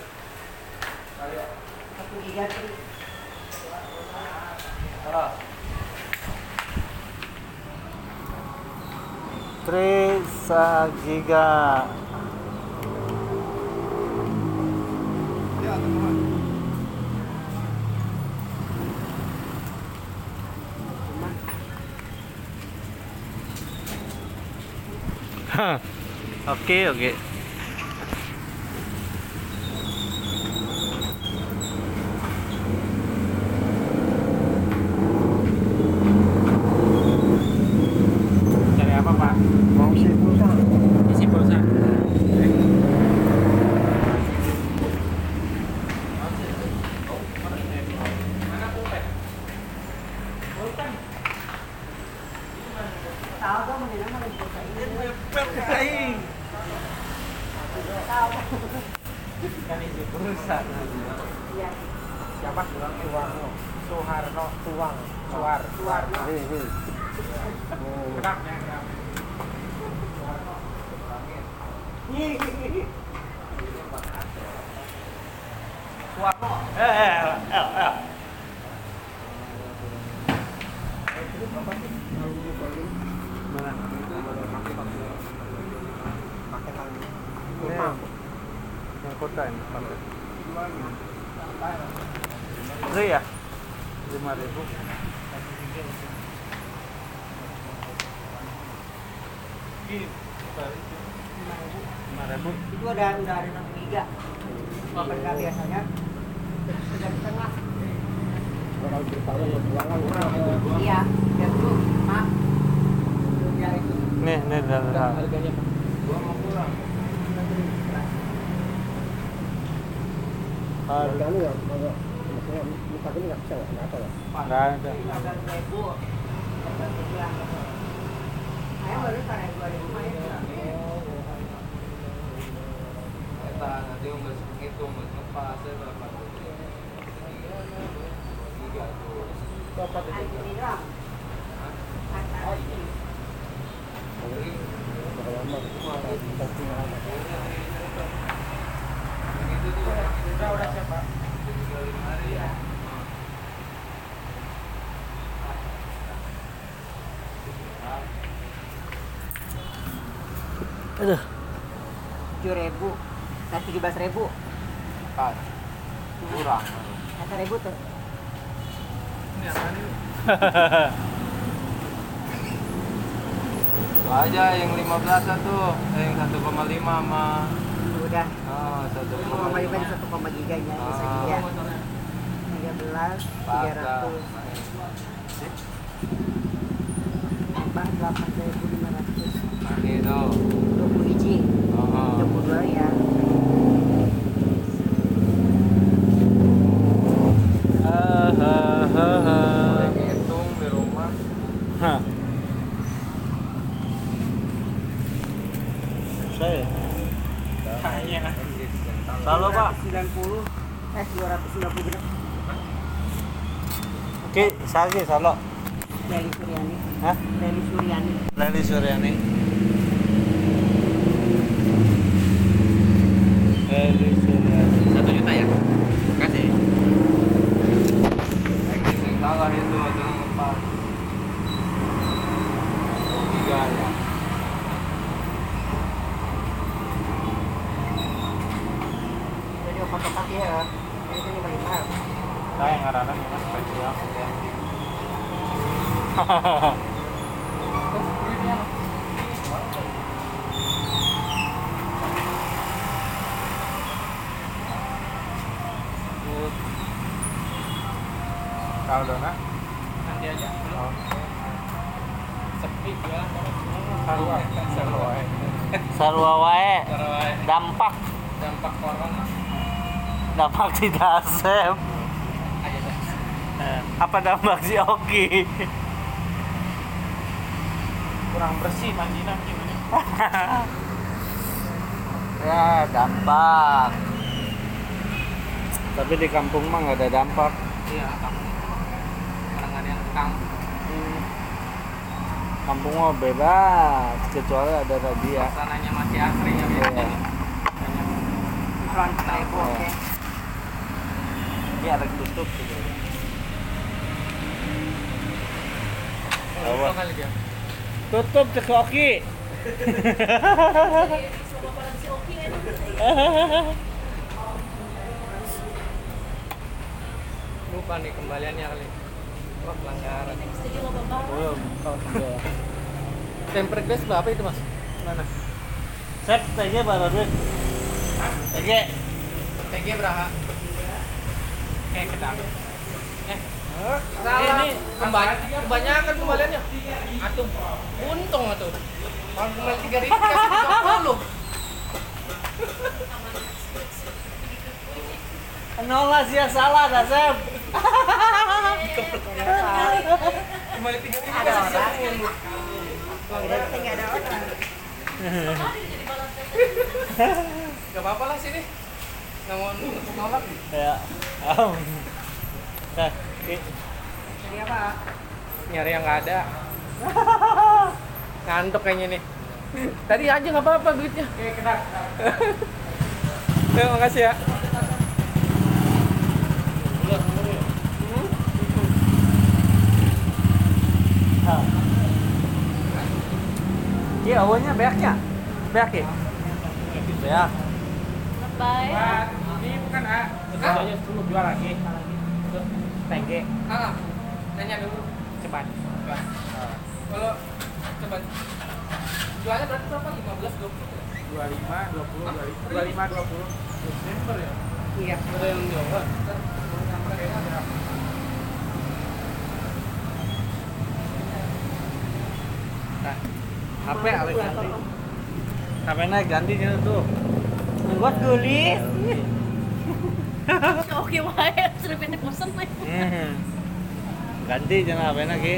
giga tuh. Tri Sagiga. Ya, teman. Oke, oke. Cari apa, Pak? mau sih pulsa. Isi pulsa. Mana pulpen? Mepet aing. Kan itu perusahaan. Iya. Siapa tuang Suwarno? Soeharno tuang. Suar. Suwarno. Hei, hei. Kedaknya. Suwarno. Eh, eh, eh, eh. Mana? Pakai lagi. Ini yang kota ini pakai. Oke ya, lima ribu. Lima ribu. Itu ada udah ada enam giga. Mereka biasanya sudah di tengah. Kalau beritahu ya buangan. Iya, ya dulu, maaf. Ya itu. Nih, nih dalam hal. Harganya Pak. Gua mau pulang. Harganya ya, agak maksudnya muka ini nggak bisa nggak nggak ada ya. Nggak ada. Ada ribu. Saya baru karena dua ribu ya. Kita nanti nggak ngitung nggak ngepas ya berapa tuh? Tiga tuh. Berapa tuh? Anti bilang. Oh iya. Berapa lama? Cuma satu lama. Itu tuh Udah udah siapa? tinggal lima hari ya. Aduh. Tujuh ribu. Nah, tujuh belas ribu. Pas. Kurang. Satu ribu tuh. Ini apa nih? Itu aja yang lima belas tuh, eh, yang satu koma lima sama Udah. oh, satu Satu koma koma lima lima. di satu koma giganya bisa Ah. giga. Tiga belas, tiga ratus. Tambah delapan ribu lima ratus. Nah, itu. Dua puluh biji. Oh. Dua puluh dua ya. Boleh ngitung di rumah. Hah. Saya. Kayaknya. Halo Pak. sembilan puluh. Eh dua ratus sembilan puluh gram. Oke, saya salo. Leli Suryani. Hah? Leli Suryani. Leli Suryani. Leli Suryani. Satu juta ya? Makasih. Yang salah itu ada yang empat. Tiga ya. Jadi obat-obat ya. Ini ini paling mahal. Saya ngaranan ini spesial. Tahu dona? Nanti aja. Oh. Sepi ya. Sarua. Sarua. Sarua wae. Sarua. Dampak. Dampak corona. Dampak si Dasep. Aja deh. Eh, Apa dampak si Oki? Kurang bersih mandinya gimana? Ya dampak. Tapi di kampung mah nggak ada dampak. Iya, kamu. Orang ada yang kang. Kampung mah bebas kecuali ada razia. Suasananya masih asri ya. Iya. Front ribu oke. Ini ada tutup gitu. Oh, kali dia. Tutup cek Oki. Lupa nih kembaliannya kali. Wah, pelanggaran. Belum. Tempered glass berapa itu, Mas? Mana? Sep, T G berapa duit? T G. T G berapa? Eh, kedap. Eh, Salah. ini kembali, kebanyakan kembaliannya. Atuh, untung atuh. Kalau kembali tiga ribu kasih tiga puluh. Nol lah sih salah dah Sep. Kembali tiga ribu kasih tiga puluh. Udah nggak ada orang. Gak apa-apa lah sini. Namun untuk nolak. Ya. Am. Nah, Ki. Jadi apa? Nyari yang nggak ada. Ngantuk kayaknya nih. Tadi aja nggak apa-apa duitnya. Oke, kenal. Terima kasih ya. Ah. Ki awalnya beaknya. Beak ya? Beak. Bye. Wah, ini bukan A. Kerjanya dulu jual lagi. Tengge. Ah, nanya dulu. Cepat. Cepat. Kalau cepat. Jualnya berarti berapa? lima belas, dua puluh? dua puluh lima, dua puluh, dua puluh lima, dua puluh. Desember ya? Iya. Ada yang Jawa. Ntar nyamper kayaknya ada. Nah, H P Alex ganti. H P-nya ganti nya tuh. Buat tulis. Oke wae, sudah pindah kosan nih. Hmm. Ganti jangan H P-nya Ki.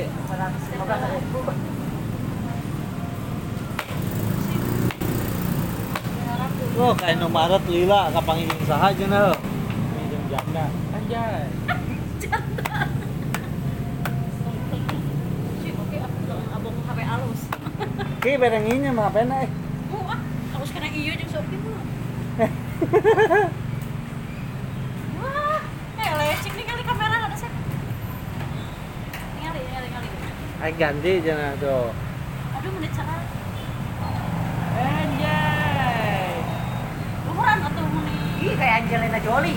Oh, kayak Indomaret lila kapang ingin saha cenah. Minjem janda. Anjay. Sih, oke, aku bilang abang H P halus. Ki bareng ieu mah H P-na eh. Oh, ah, halus kena iya jeung Shopee mah. Wah, eh lecing nih kali kamera ada sih. Ningali, ningali, ningali. Ai ganti cenah tuh. Aduh, menit cara. Anjay. Umuran atau muni? Ih, kayak Angelina Jolie.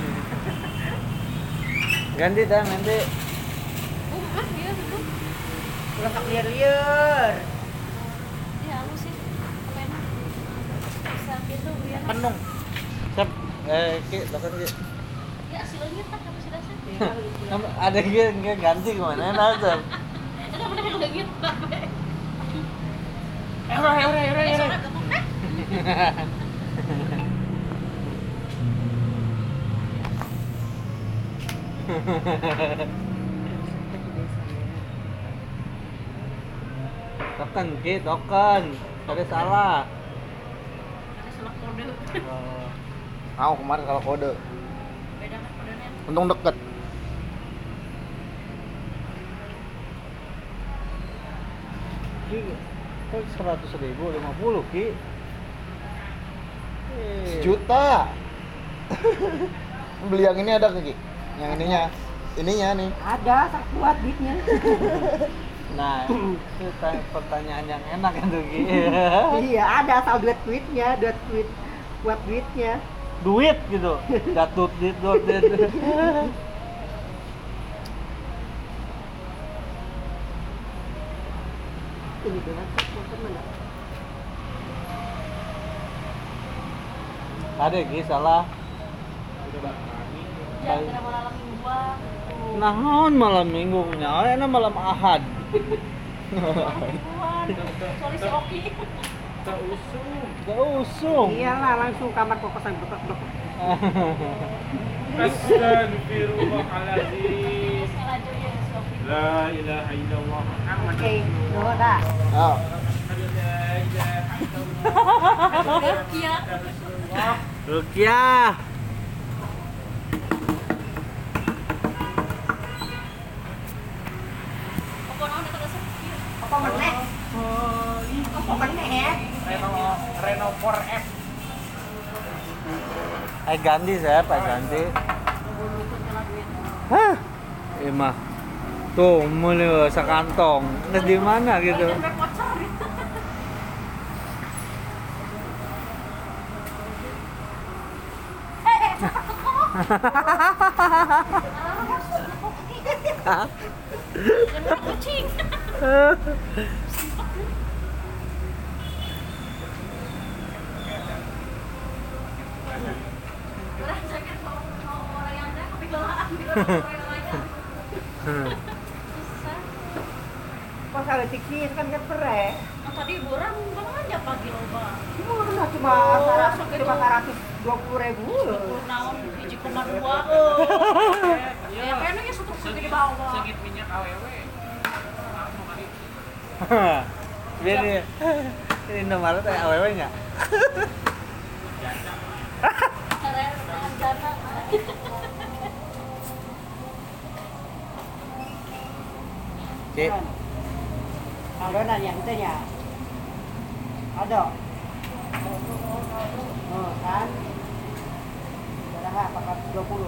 Ganti dah nanti. Oh, ah, iya betul. Udah tak liar-liar. Iya, halus sih. Kamera. Bisa gitu biar. Penung. Sep, eh Ki, lakukan Ki. Ya, hasilnya tak apa sih dasar? Ada Ki enggak ganti kemana nah, Sep. Ada bener yang gitu, Babe. Eh, ora, ora, ora, Eh, ora. soalnya gampang, eh. Token Ki, token. Tadi salah. Ada salah kode. Oh. Mau kemarin kalau kode. Beda kan kodenya. Untung deket. Ki, kok seratus ribu lima puluh Ki? Eh, Sejuta. Beli yang ini ada nggak, Ki? Yang ininya. Ininya nih. Ada, tak kuat duitnya. Nah, itu ta- pertanyaan yang enak kan tuh Ki. Iya, ada asal duit duitnya, duit duit buat duitnya. Duit gitu. Datut dit dot dit. Ini dengan teman. Ada Ki salah. Jangan kena malam mingguan. Tuh. Naon malam minggu nya, enak malam Ahad. Mingguan. Sorry si Oki. Tak usung. Gak usung. Iyalah, langsung kamar kokosan blok-blok. Astagfirullahaladzim. Salah aja ya si Oki. La ilaha illallah. Muhammad Oke, udah dah. Oh. Rukia. Rukiah. Apa naon eta dasar? Apa meneh? Apa meneh? Reno Reno four F. Eh ganti saya, Pak ganti. Hah? Emah. Tuh, mulai sekantong. Terus di mana gitu? Sampai kocor gitu. Eh, eh, takut kok. Jangan kucing. Udah sakit mau mau orang yang ada kepikiran gitu orang yang lain. Susah. Pas ada tiksi kan kan pere. Nah, tadi borang bang aja pagi loba. Murah cuma Oh, seratus segitu. cuma seratus dua puluh ribu. Naon hiji koma dua. Ya kayaknya ya satu segede di bawah. Segit minyak awewe. Biar dia. Ini Indomaret kayak awewe enggak? Karena dengan dana. Cik. Kalau nanya itu ya. Ada. Oh, kan? Berapa? empat ratus dua puluh.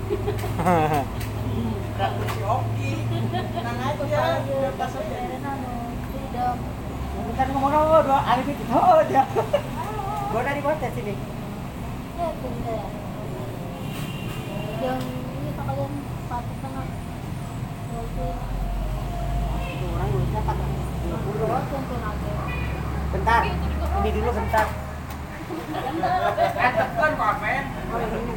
Seratus si Oki. Tenang aja. Bebas aja. Tidak. Bukan ngomong oh, dua hari itu oh aja. Gua dari kota sini. Ya, bener. Yang ini kalian patut tengah. Oke. Itu orang duitnya empat ratus dua puluh. Oh, tentu aja. Bentar. Ini dulu bentar. Kan tekan kok, men. Oh, ini.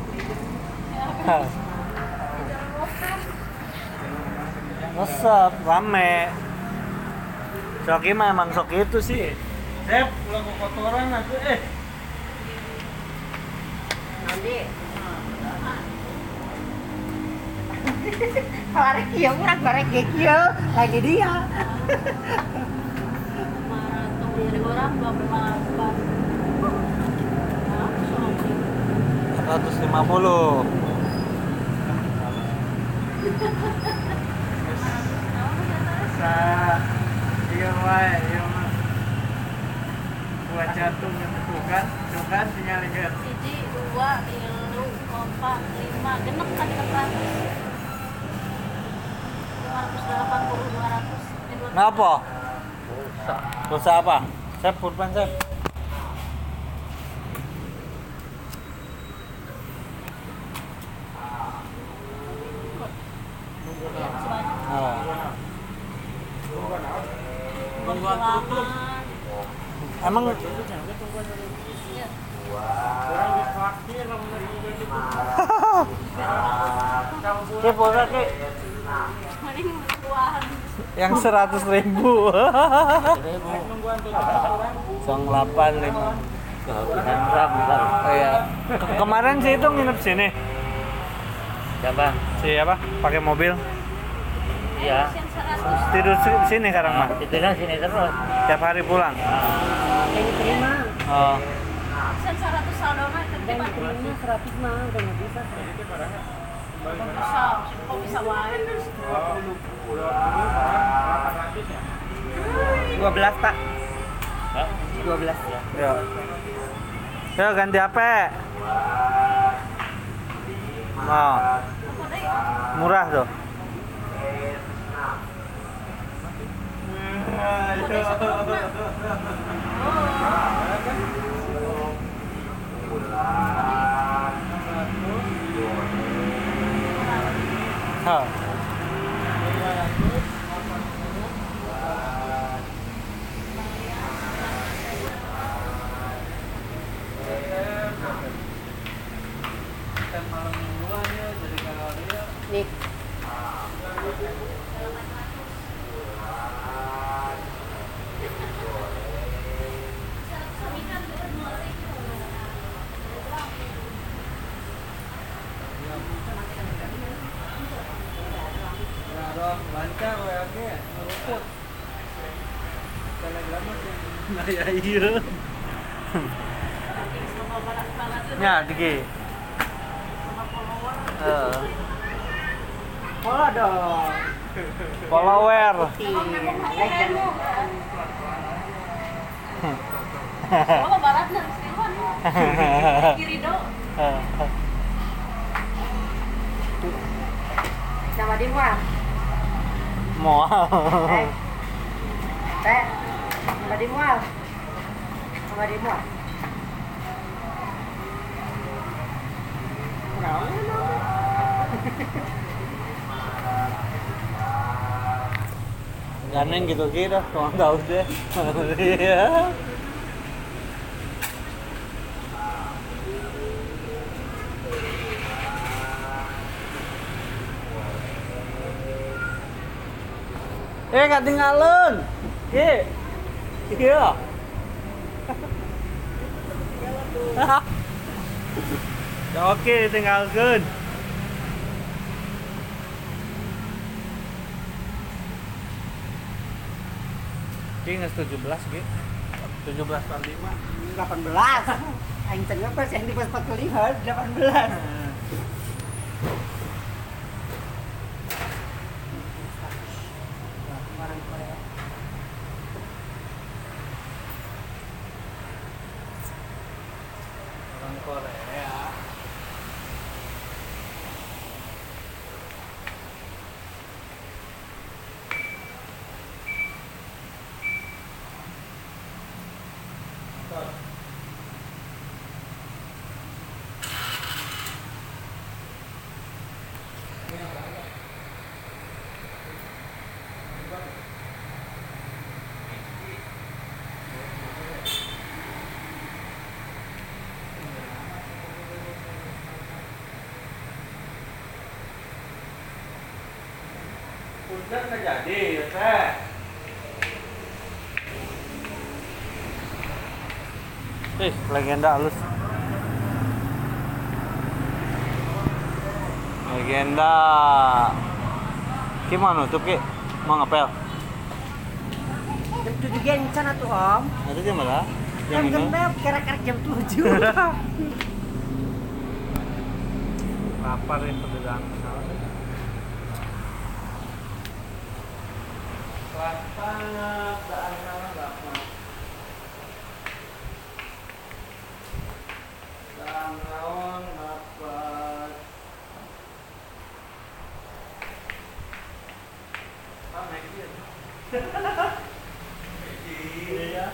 Resep, rame. Soki mah emang Soki itu sih. Sep, pulang ke kotoran aku eh. Nanti. Kalau ada kia, kurang bareng kia lagi dia. Maraton dari orang dua belas bar. Nah, soalnya. empat ratus lima puluh. Sa iya wae, iya mah. Buat jatuh gitu kan, tuh kan sinyalnya. Siji, dua, tilu, empat, lima, genep kan tiga ratus. Lima ratus delapan puluh, dua ratus. Ngapa? Pulsa apa? Sep, pulpen sep. Oh. Tungguan tutup. Emang Iya. Orang ditraktir lah bener gitu. Ki pulsa ki Mending buahan. yang seratus ribu. Tungguan tutup orang. Song delapan lima. Kehabisan ram ntar. Oh iya. Ke- kemarin sih itu nginep sini. Siapa? Si apa? Pakai mobil. Iya. Yang seratus. Tidur si- sini sekarang mah. Itu kan sini terus. Tiap hari pulang. Yang diterima. Oh. Sen seratus saldo mah Yang tertiban. diterima seratus mah udah nggak bisa. Kok bisa? Kok bisa wae? dua belas pak. Hah? dua belas. Ya. Yo ganti H P. Oh, Apa deh? murah tuh. Hah. Nih. Lancar W A G ya, ngeruput. Telegram masih. Nah ya iya. Ya, Diki. Eh, Follow dong. follower. Like dan Oh, barat dan Stewan. Kiri do. nama dia Mual. Mau. Eh. Teh. Nama dia Mual. Nama dia Mual. Gandeng gitu kira, cuma tahu deh. Iya. Eh, gak tinggalin. Ki. Iya. Ya oke, tinggalkan. Ki nggak tujuh belas Ki. tujuh belas kali lima. delapan belas. Aing tengah pas yang di pas empat puluh lima delapan belas. Orang Korea. Orang Korea. Udah nggak jadi ya teh. Eh, legenda halus. Legenda. Gimana tuh Ki? Mau ngapel? Jam tujuh gen sana tuh om. Ada jam berapa? Jam Jam ini. genep kira-kira jam tujuh. Lapar ya pedagang. Lapar, daan lapar. Daan naon lapar. Ah, naik dia. Iya.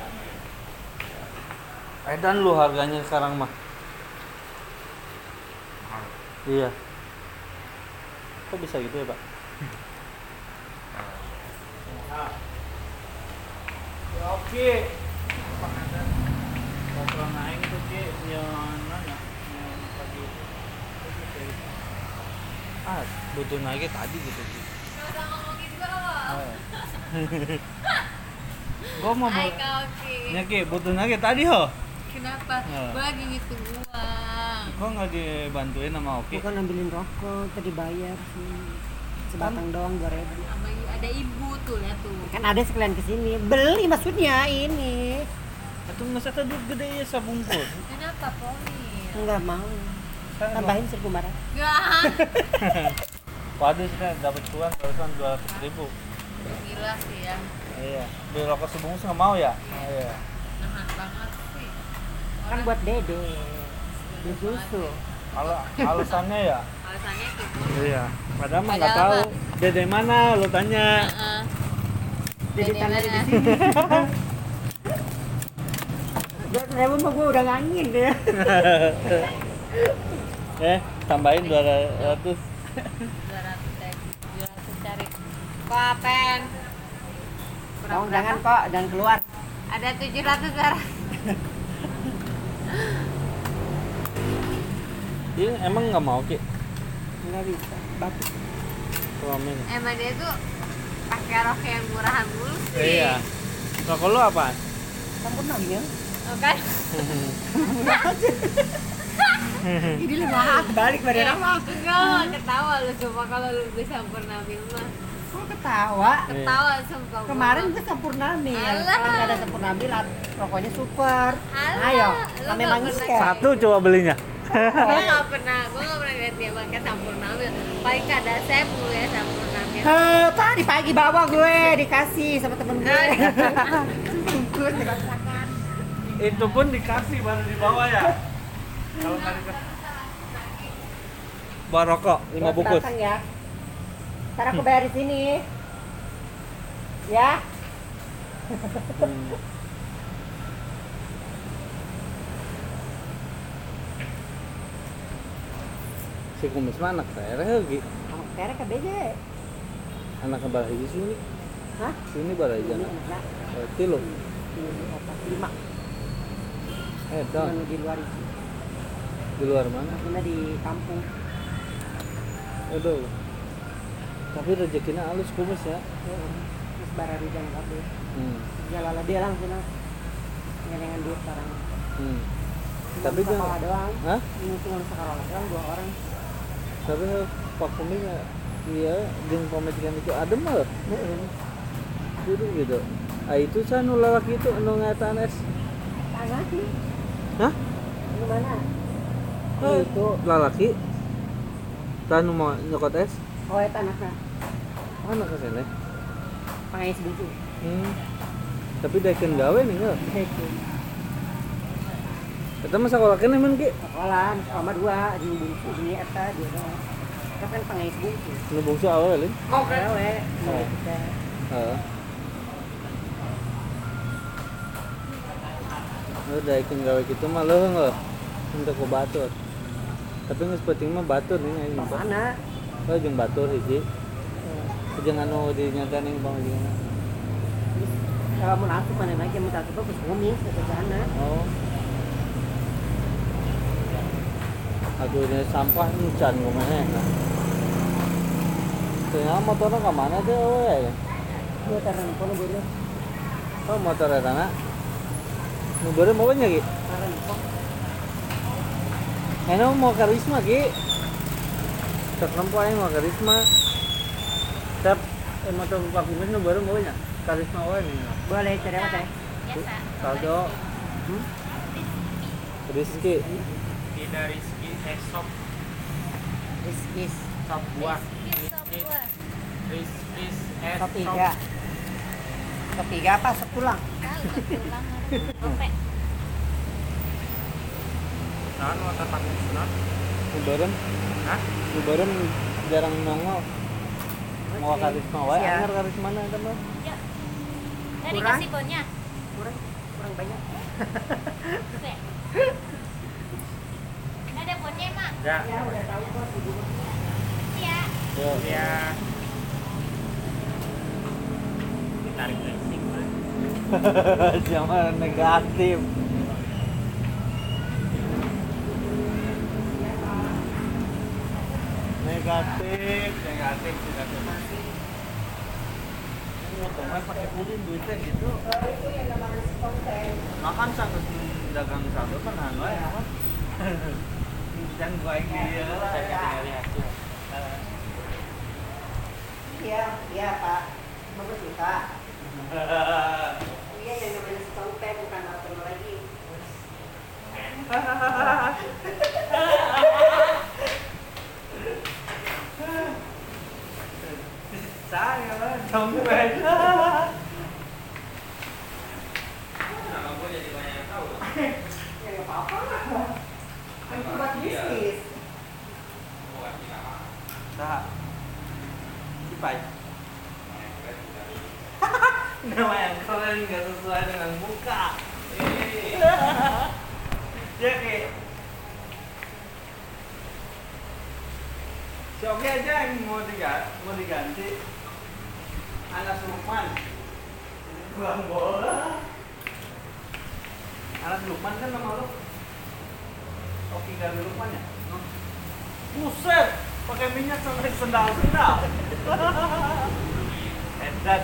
Edan lu harganya sekarang mah. Iya. Kok bisa gitu ya, Pak? Ya, oke. Bakal naik tuh Ki, yang mana? Yang pagi itu. Ah, butuh naik tadi gitu Ki. Udah ngomongin gue loh. Gua mau Hai bu- Kak Oki. Ya Ki, butuh naik tadi ho. Kenapa? Oh. Gue lagi ngitung uang. Kok nggak dibantuin sama Oki? Bukan ambilin rokok, tadi bayar sih. Sebatang doang dua ribu. Sama i- ada ibu tuh, lihat tuh. Kan ada sekalian kesini. Beli maksudnya ini. Itu nggak usah duit gede ya sabungkus. Kenapa Poni? Enggak mau. Tambahin seribu barat. Gak. Waduh, sih dapat cuan barusan dua ratus ribu. Gila sih ya. Iya. Beli rokok sebungkus nggak mau ya? Iya. Nahan banget sih. Kan buat dede. Beli susu. Kalau alasannya ya? Alasannya gitu. Iya. Padahal mah nggak Padahal tahu. Dede mana? Lu tanya. Heeh. Jadi Dede tanah di mana? sini. Dua ribu mah gue udah ngangin deh. Eh, tambahin dua ratus. dua ratus ya. dua ratus cari. Kok apen? Kurang Oh, berapa? jangan kok, jangan keluar. Ada tujuh ratus darah. Iya, emang nggak mau Ki? Enggak bisa. Batuk. Suamin. Emang dia tuh pakai rok yang murahan mulu sih. Iya. Rokok lu apa? Campur lagi ya. Oh, kan? Ini lu maaf balik pada nama. Enggak, ketawa lu coba kalau lu bisa Purnamil mah. Kok ketawa? Ketawa sumpah. gua. Kemarin gue sempurnamil. Alah. Kalau nggak ada sempurnamil, rokoknya super. Alah, Ayo, lu kami nggak manggis pernah. ya. Satu coba belinya. Gue nggak pernah, gue nggak pernah lihat dia pakai Sampurnamil. Paling kada saya mulu ya Sampurnamil. Heh, tadi pagi bawa gue dikasih sama temen gue. Bungkus dikosakan. Itu pun dikasih baru dibawa ya. Kalau nggak dikasih. Bawa rokok lima bungkus. Datang ya. Ntar aku bayar di sini. Ya. Hmm. Si kumis mah anak saya lagi. Mau kere ke B J. Anak kebalah hiji sini. Hah? Sini balah hiji anak. Nah, Berarti lo. ini apa? Lima. Eh, dong. Cuman di luar itu. Di luar mana? Cuma di kampung. Aduh. Tapi rezekinya halus kumis ya. Terus barari jangan kabeh. Hmm. Jalala dia langsung lah. Ngelengan duit sekarang. Hmm. Cuma Tapi dia- sekolah doang. Hah? Ini cuma sekolah doang dua orang. Tapi Pak Kumis iya jeung pamajikan itu adem mah. Heeh. Gitu gitu. Ah itu saya nu lalaki itu nu ngataan es. Tanah sih. Hah? Di mana? Oh, Itu. lalaki. Tah nu mau nyokot es. Oh, itu anaknya. Anak ke sana. Pangais buku. Hmm. Tapi daekeun gawe nih enggak? Itu. Eta mah sakolakeun emang ki. Sekolah, sekolah dua di bungsu ini eta dia doang. Itu kan pangais buku. Nu bungsu awal lin. Oke. Lewe. Oh. Kita. Heeh. Oh, daekeun gawe kitu mah leuheung euy. Untuk ku batur. Tapi geus penting mah batur nih aing. Mana? Oh, jeung batur hiji. Jeung anu dinyatakeun ning pangajina. Kalau mau asup mana lagi mau asup ke bumi ke sana. Oh. Aduh, ini sampah ncan kumaha ya. Ternyata motornya ke mana tuh we? Dia taran kono bener. Oh, motor eta na. Nu beureuh mau nya Ki? Taran kok. Eno mau karisma Ki. Tek lempo aing mau karisma. Tep eh, motor Pak Kumis nu beureuh mau nya? Karisma wae nih. Boleh cari apa teh? Biasa. Saldo. Hmm? Rizky. Tidak Rizky Esop Riskis. Sop buah. Kisah buah. Rizky Sop Esop. tiga. Sop tiga apa? Sop tulang. Tahu ketulang Oke. Nah, motor Pak Wisnu. Nu beureuh. Hah? Nu beureuh jarang nongol. Mau karisma wae, Siap. anger karisma na eta mah. Ya. Dari Kurang? kasih bonnya. Kurang kurang banyak. Oke. Ada bonnya, Mak. Ya. Ya udah tahu kok ibu. Iya. Yo. Ya. Ditarik racing. Jangan negatif. Negatif, negatif, negatif. Ini otomatis pakai pudin duitnya gitu. Makan sanggeus dagang saldo kan anu ya. Jangan gua ini dia lah. Iya, iya Pak. Bagus nih Pak. Iya yang namanya setong teh bukan apa lagi. Saya lah, dompet. Kenapa gue jadi banyak yang tahu? Ya nggak apa-apa lah. Kan buat bisnis. Bukan tidak apa. Nah, Cipai. Nama yang keren nggak sesuai dengan muka. Ya kayak si Oki aja yang mau diganti, mau diganti. Anak Lukman, buang bola. Anak Lukman kan nama lu? Oki ganti Lukman ya? Buset, pakai minyak sampai sendal-sendal. Edan.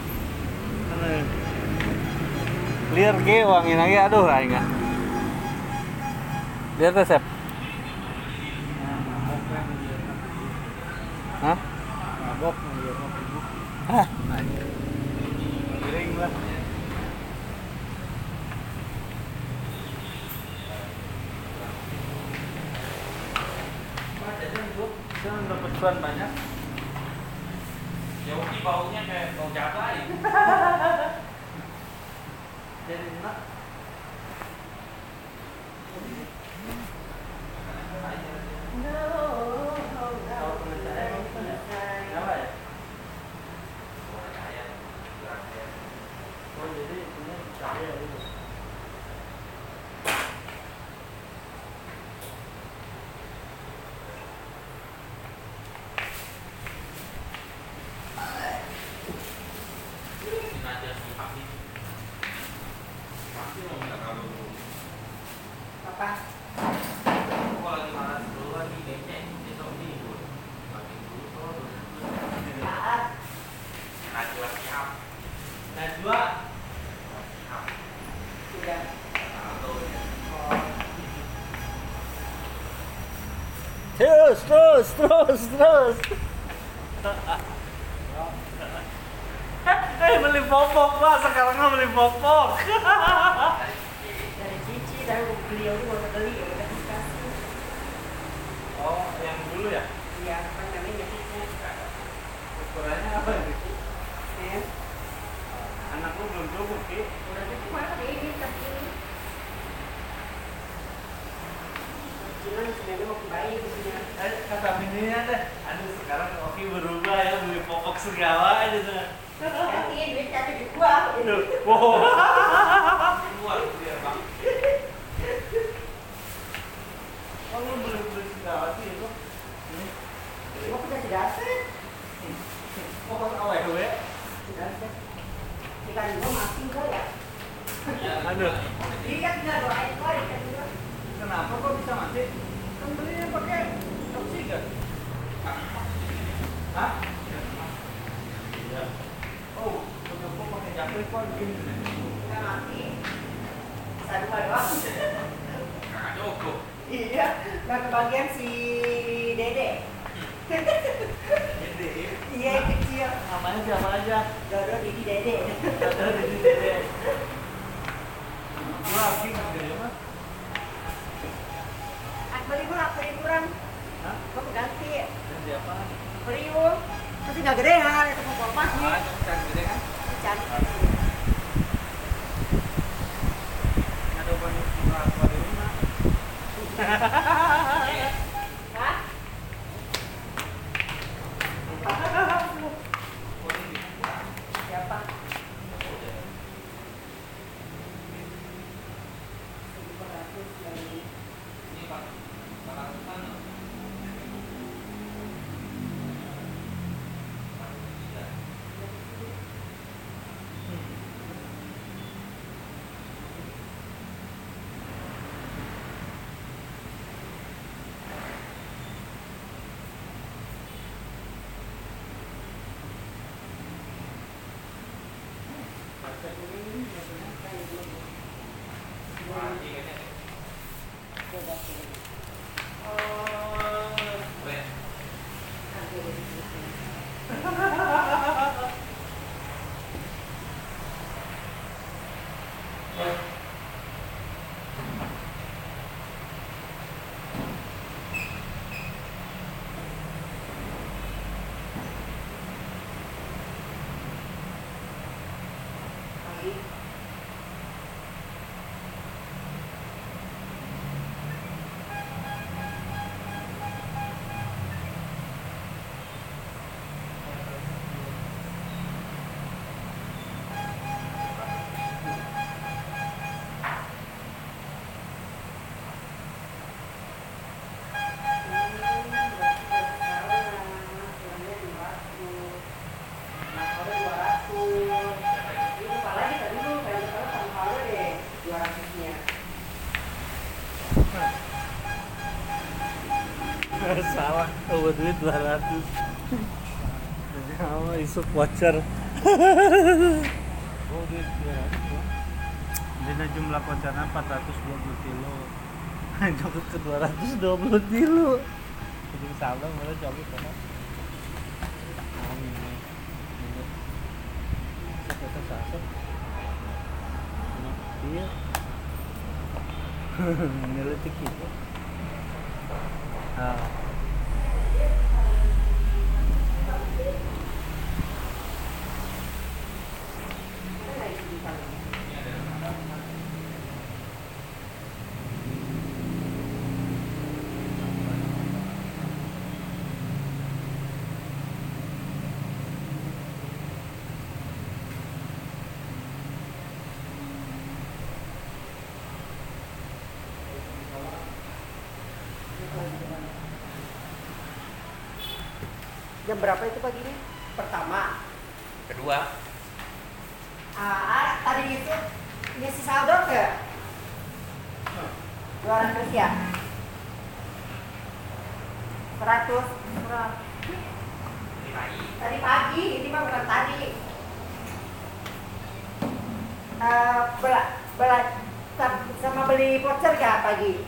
Clear ge wangin lagi, aduh aing enggak. Lihat resep. Hah? Mabok Hah? Piring lah. Jangan dapat cuan banyak. Ya Uki baunya kayak bau cabai. Jadi enak. Kenapa ya? Oh jadi ini cahaya gitu. Sengaja si Papi. Pasti mau minta kalau Apa? gua lagi malas dulu lagi kayaknya besok minggu. Makin dulu kalau Saat. Najwa siap. Najwa. Siap. Sudah. Atau Terus, terus, terus, terus. Eh beli popok pak, sekarang nggak beli popok. Dari Cici, dari beliau tuh mau beli ya udah dikasih. Oh, yang dulu ya? Iya, kan namanya Cici. Ukurannya apa ya? Eh, Anak lu belum cukup Ki. udah cukup mana tapi ini tapi ini. Cuman sebenarnya mau kembali ke sini. Eh kata bininya deh, aduh sekarang Oki berubah ya beli popok segala aja tuh. Ganti duit tapi di gua. Aduh, wow. Keluar dia bang. Oh lu beli beli segala sih itu? Ini, Gua udah sedaset. popok awewe. Sedaset. Ikan gua masing kok ya. Aduh, Ini kan tinggal doain kok ikan gua. kenapa kok bisa mati? Kan belinya pakai oksigen. Hah? Iya. Oh, udah kok pakai jaket kok begini. Nggak mati. Satu dua doang. Kakak cukup. Iya, nggak kebagian si Dede. Jadi, Iya yang kecil. namanya siapa aja? Dodo Didi Dede. Ada di dede. Gua lagi ngerti mah. Aku beli kurang, beli kurang. Hah? Gua ganti. Ganti apa? Beli yuk. Tapi nggak gede ya, itu mau kompas nih. Ah, kamu cari gede kan? Cantik. Ada banyak murah apa di rumah? Hah? Siapa? seribu ratus dari Ini pak. Kakak sana. Wajib ini. Weh. Salah, oh duit dua ratus. Kamu isu voucher. Oh duit dua ratus. Dina jumlah vouchernya empat ratus dua puluh kilo. Jokut ke dua ratus dua puluh kilo. Jadi salah malah jokut kan. Oh ini. Ini. Kita sasep. Iya. Ngelitik gitu. Ah. Jam berapa itu paginya? Pertama. Kedua. Ah, tadi itu ngisi saldo ke? dua ratus ya? seratus kurang. Tadi pagi, ini mah bukan tadi. Eh, bela, bela, sama beli voucher gak pagi?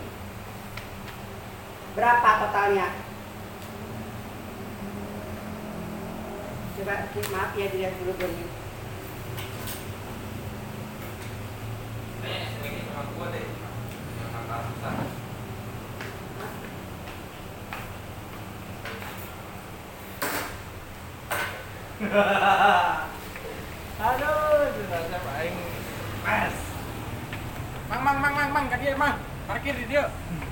Berapa totalnya? Coba maaf ya dilihat dulu dulu. gua deh. Yang angka susah. Aduh, sudah saya paling pas. Mang mang mang mang mang ka dia mang. Parkir di dia.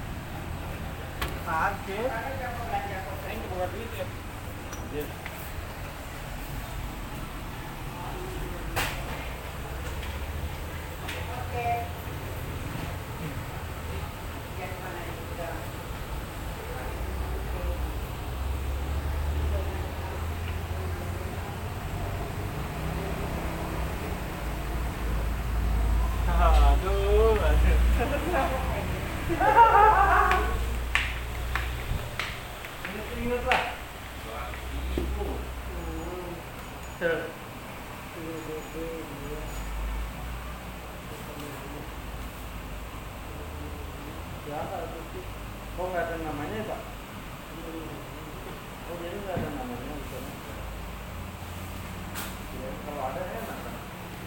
Sakit. Aing buka duit ya. Aduh, aduh. Ingat lah. Tuh. Ya, oh nggak ada namanya Pak? Oh jadi nggak ada namanya di sana. Ya, kalau ada enak kan?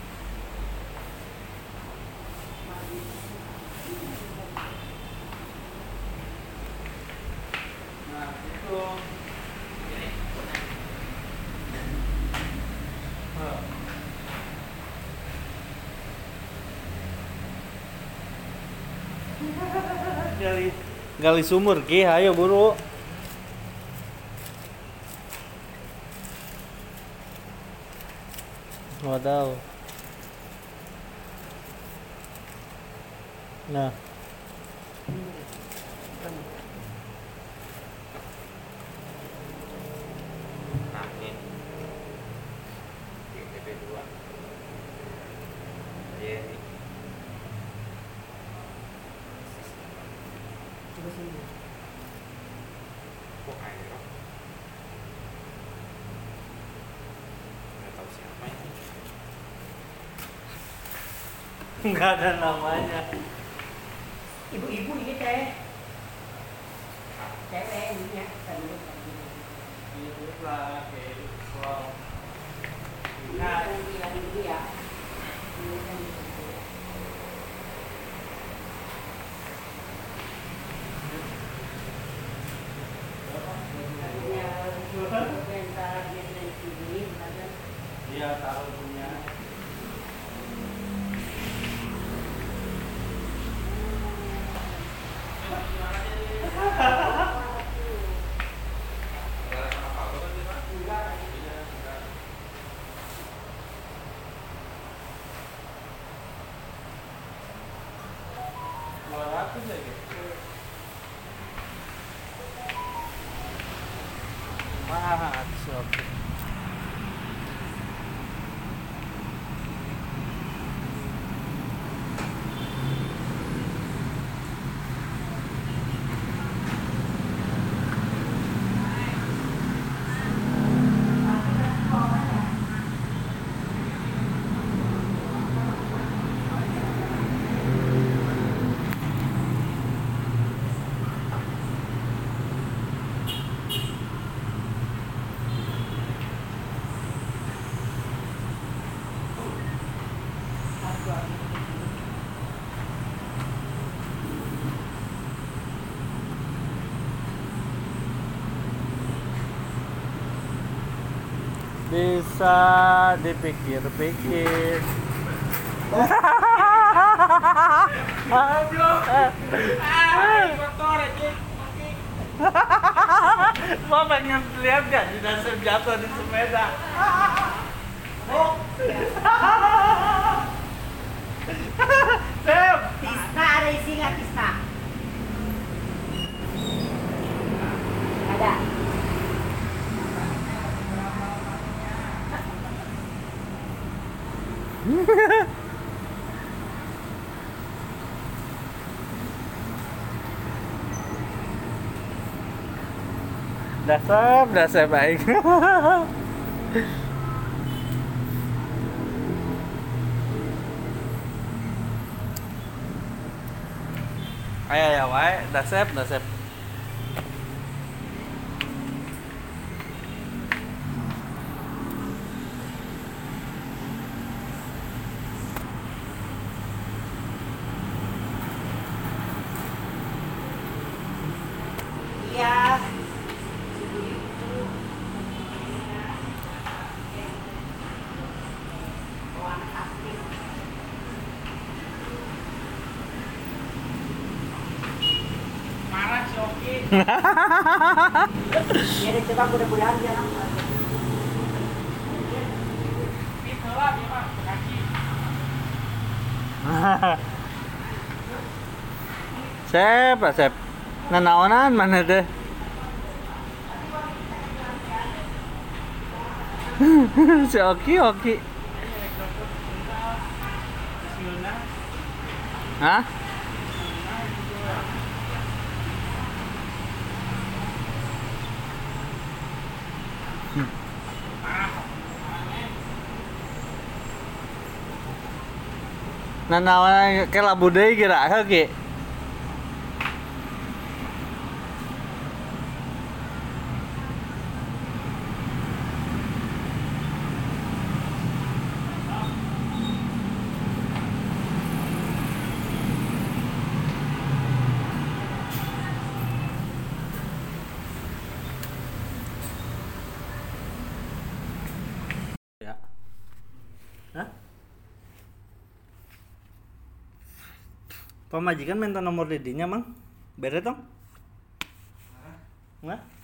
Nah itu. Oh. gali gali sumur ki, ayo buru. Wadaw. Nah. Nah, ini. T P dua. Iya nih. Coba sini. Kok air? Nggak tahu siapa ini. Nggak ada namanya. Ibu-ibu ini teh. Cewek ini ya. Itu lah, kayak wow. Nah, yang ini ya. Iya, taruh punya. dua ratus ya gitu. Wah, sok. Bisa dipikir-pikir. Kotor aja. Mau pengen lihat gak di dasar jatuh di sepeda? Sam, Tisna ada isi nggak Tisna? Ada. dasar, dasar baik. Ayo ya, wae, dasep, dasep. Ya deh coba mudah-mudahan dia nangkap. Itu lah dia mah kaki. Sep, lah Sep. Nanaonan mana teh? Si Oki Oki. Hah? Nanaonan ke labu deui geura Oki. Ya. Hah? Pamajikan minta nomor didinya, Mang. Bere tong? Hah?